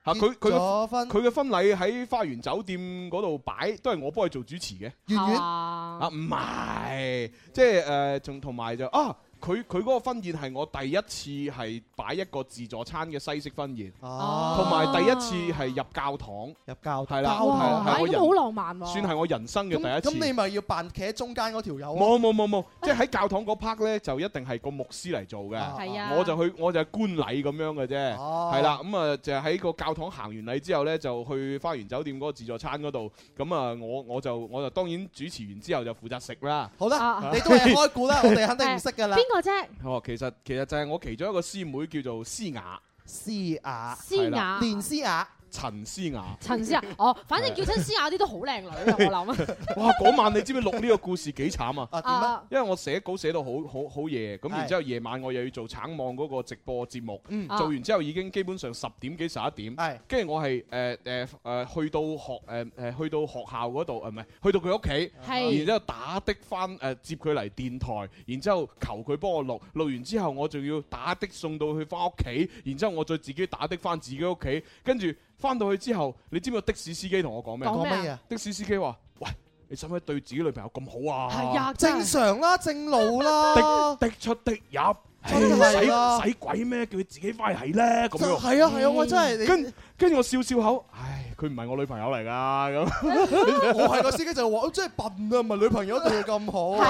S2: 佢嘅婚禮喺花園酒店嗰度擺，都係我幫佢做主持嘅。
S3: 圓圓
S2: 啊，唔係，即係同埋就啊。佢嗰個婚宴係我第一次係擺一個自助餐嘅西式婚宴，同埋第一次係入教堂，係啦，係
S4: 好浪漫喎，
S2: 算係我人生嘅第一次。
S3: 咁你咪要扮企喺中間嗰條友？
S2: 冇，即係喺教堂嗰 part 咧，就一定係個牧師嚟做嘅。
S4: 係啊，
S2: 我就係觀禮咁樣嘅啫。係啦，咁啊就喺個教堂行完禮之後咧，就去花園酒店嗰個自助餐嗰度。咁啊，我就當然主持完之後就負責食啦。
S3: 好啦，你都係開估啦，我哋肯定唔識㗎啦。
S4: 個啫？
S2: 其實就係我其中一個師妹叫做詩雅，
S3: 連詩雅。
S2: 陳詩雅，
S4: 反正叫親詩雅啲都好靚女啊！我諗
S2: 哇，嗰晚你知唔知錄呢個故事幾慘啊？
S3: 點啊？
S2: 因為我寫稿寫到好夜，咁然之後夜晚我又要做橙網嗰個直播節目，做完之後已經基本上10點幾11點，跟住我係去到學校嗰度，唔係去到佢屋企，然之後打的翻接佢嚟電台，然之後求佢幫我錄完之後，我仲要打的送到去翻屋企，然之後我再自己打的翻自己屋企，跟住。翻到去之後，你知唔知的士司機同我講咩？
S3: 講咩啊？
S2: 的士司機話：喂，你使唔使對自己女朋友咁好啊？
S4: 係啊，
S3: 正常啦，正路啦，
S2: 的出的入，使鬼咩？叫佢自己翻嚟係咧咁樣。
S3: 係啊，我真係
S2: 跟住我笑笑口，唉，佢唔係我女朋友嚟㗎咁。
S3: 我係個司機就話：我真係笨啊，唔係女朋友對佢咁好。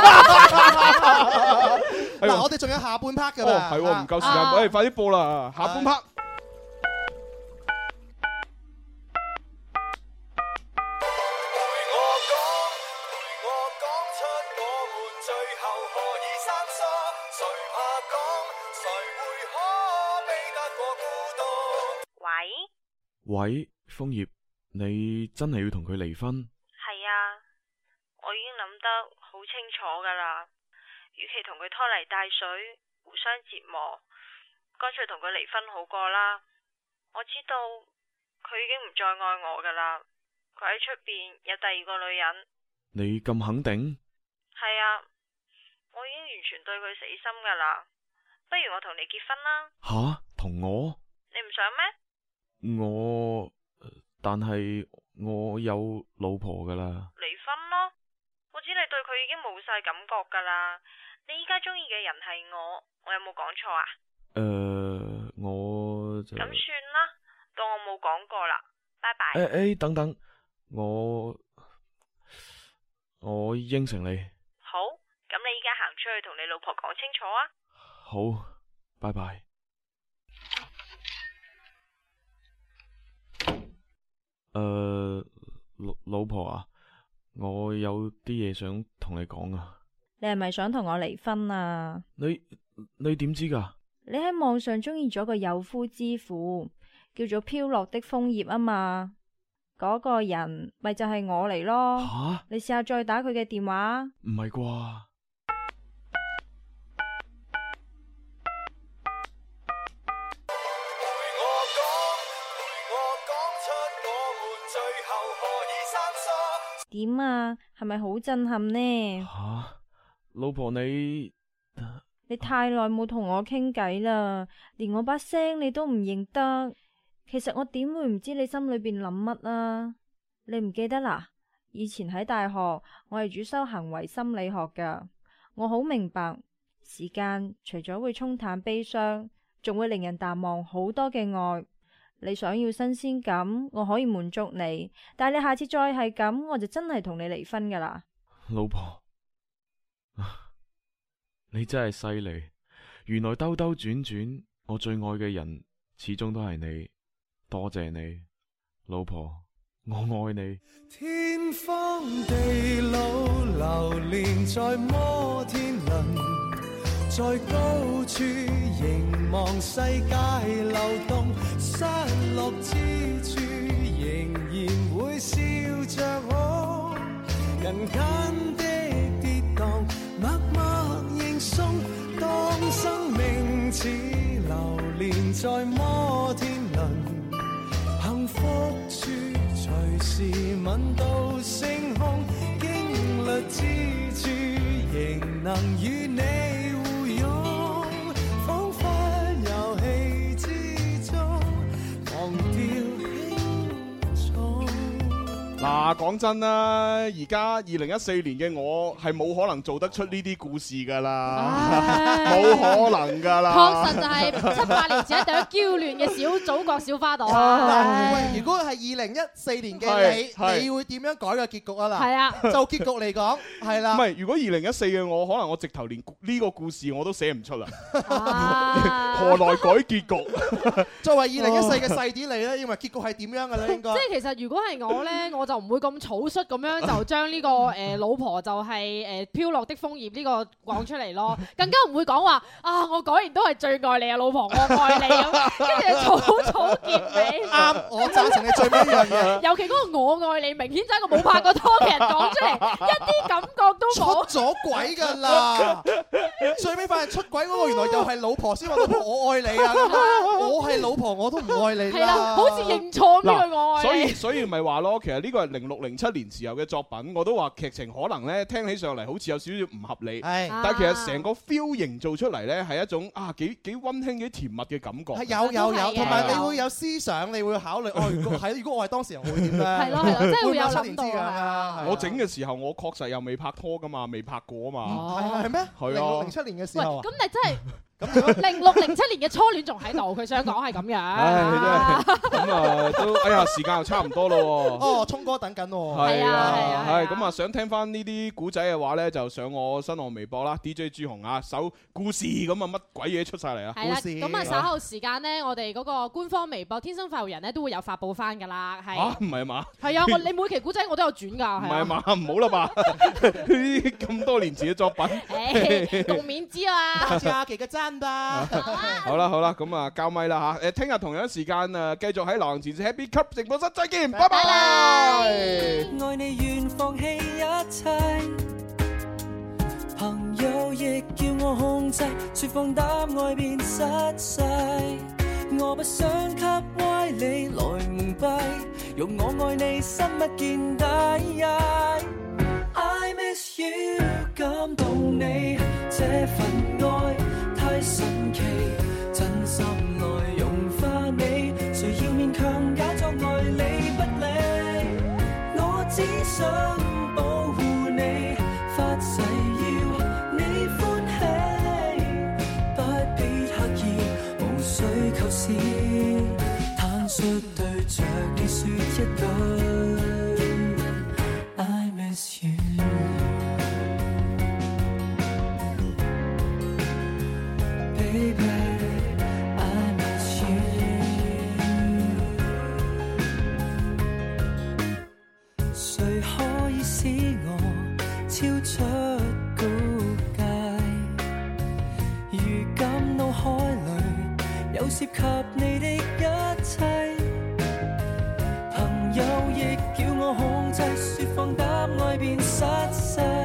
S3: 嗱，我哋仲有下半 part 㗎嘛？
S2: 係喎，唔夠時間，快啲播啦，下半 part。
S10: 喂，楓葉，你真係要同佢離婚？
S13: 係啊，我已經諗得好清楚噶啦。與其同佢拖泥帶水，互相折磨，乾脆同佢離婚好過啦。我知道佢已經唔再愛我噶啦，佢喺出邊有第二個女人。
S10: 你咁肯定？
S13: 係啊，我已經完全對佢死心噶啦。不如我同你結婚啦。
S10: 吓？同我？
S13: 你唔想咩？
S10: 但係我有老婆噶啦。
S13: 離婚咯！我知你對佢已經冇晒感覺噶啦。你依家中意嘅人係我有冇講錯啊？
S10: 我就咁
S13: 算啦，當我冇講過啦。拜拜。
S10: 等等，我應承你。
S13: 好，咁你依家行出去同你老婆講清楚啊。
S10: 好，拜拜。老婆啊，我有啲嘢想同你講啊。
S12: 你係咪想同我離婚啊？
S10: 你點知㗎？
S12: 你喺網上中意咗個有夫之婦，叫做飄落的楓葉啊嘛。嗰個人咪就係我嚟咯。
S10: 吓？
S12: 你試下再打佢嘅電話。
S10: 唔係啩？
S12: 點啊？係咪好震撼呢？
S10: 吓，老婆你
S12: 太耐冇同我傾偈啦，連我把聲你都唔認得。其實我點會唔知你心裏邊諗乜啊？你唔記得啦？以前喺大學，我係主修行為心理學噶，我好明白時間除咗會沖淡悲傷，仲會令人淡忘好多嘅愛。你想要新鮮感，我可以滿足你，但係你下次再係咁，我就真係同你離婚噶啦。
S10: 老婆，你真係犀利，原來兜兜轉轉，我最愛嘅人始終都係你，多謝你，老婆，我愛你。
S11: 天荒地老，流連在摩天輪，在高處凝望世界流動，失落之處仍然會笑着哭，人間的跌宕默默認送，當生命似流連在摩天輪，幸福處隨時吻到星空，經歷之處仍能與你彷彿遊戲之中，忘掉
S2: 嗱，講真啦，而家2014年嘅我係冇可能做得出呢啲故事噶啦，冇可能噶啦。
S4: 確實就係7-8年前一朵嬌嫩嘅小祖國小花朵啊！
S3: 喂，如果係2014年嘅你會點樣改個結局啊？嗱，係啊，就結局嚟講，係啦。
S2: 唔係，如果2014嘅我，可能我直頭連呢個故事我都寫唔出啦。何來改結局？
S3: 作為2014嘅細啲你咧，認為結局係點樣嘅咧？應該
S4: 即係其實如果係我咧，我就唔會咁草率咁樣就將呢個老婆就係飄落的楓葉呢個講出嚟咯，更加唔會講話啊！我果然都係最愛你啊，老婆，我愛你咁，跟住草結尾。
S3: 啱，我贊成你最尾一樣嘢。
S4: 尤其嗰個我愛你，明顯就係一個冇拍過拖嘅人講出嚟，一啲感覺都冇。
S3: 出咗軌㗎啦！最尾發現出軌嗰個原來又係老婆先話老婆我愛你啊！我係老婆我都唔愛你啦。係啦，
S4: 好似認錯呢句我愛你。
S2: 所以咪話咯，其實呢個係06、07年時候嘅作品，我都話劇情可能咧聽起上嚟好似有少少唔合理，但係其實成個 feel 營造出嚟咧係一種幾溫馨幾甜蜜嘅感覺。
S3: 係有，同埋你會有思想，你會考慮如果我係當事人會點咧？
S4: 係咯，真係會有諗到
S3: 啊！
S2: 我整嘅時候，我確實又未拍拖噶嘛，未拍過啊嘛。
S3: 係咩？
S2: 係啊
S3: ，06、07年嘅時候。
S4: 咁你真係。06、07年嘅初戀仲喺度，佢想講係咁樣。
S2: 咁都時間又差唔多咯喎。
S3: 哦，聰哥等緊喎。
S4: 係啊，
S2: 係咁想聽翻呢啲古仔嘅話咧，就上我新浪微博啦 ，DJ 朱紅啊，首故事咁乜鬼嘢出晒嚟啊！
S4: 係啦，咁稍後時間咧，我哋嗰個官方微博天生快活人咧都會有發布翻㗎啦。係
S2: 唔係嘛？
S4: 係啊，你每期古仔我都有轉㗎。
S2: 唔係嘛？唔好啦吧？呢啲咁多年前嘅作品，
S4: 共勉之啊！
S3: 多謝阿奇嘅讚。
S2: 好啦，咁交咪啦嚇！聽日同樣時間繼續喺流行前線 Happy Cup 直播室再見，拜拜。
S11: 愛你願放棄一切，朋友亦叫我控制，説放膽愛變失勢。我不想給歪理來蒙蔽，用我愛你深不見底。I miss you， 感動你這份愛。太神奇，真心內融化你，誰要勉強假裝愛你不理？我只想保護你，發誓要你歡喜，不必刻意，無需構思，坦率對着你說一句 I miss you。誰可以使我超出高階？如今腦海裡有涉及你的一切，朋友亦叫我控制，説放膽愛變失勢。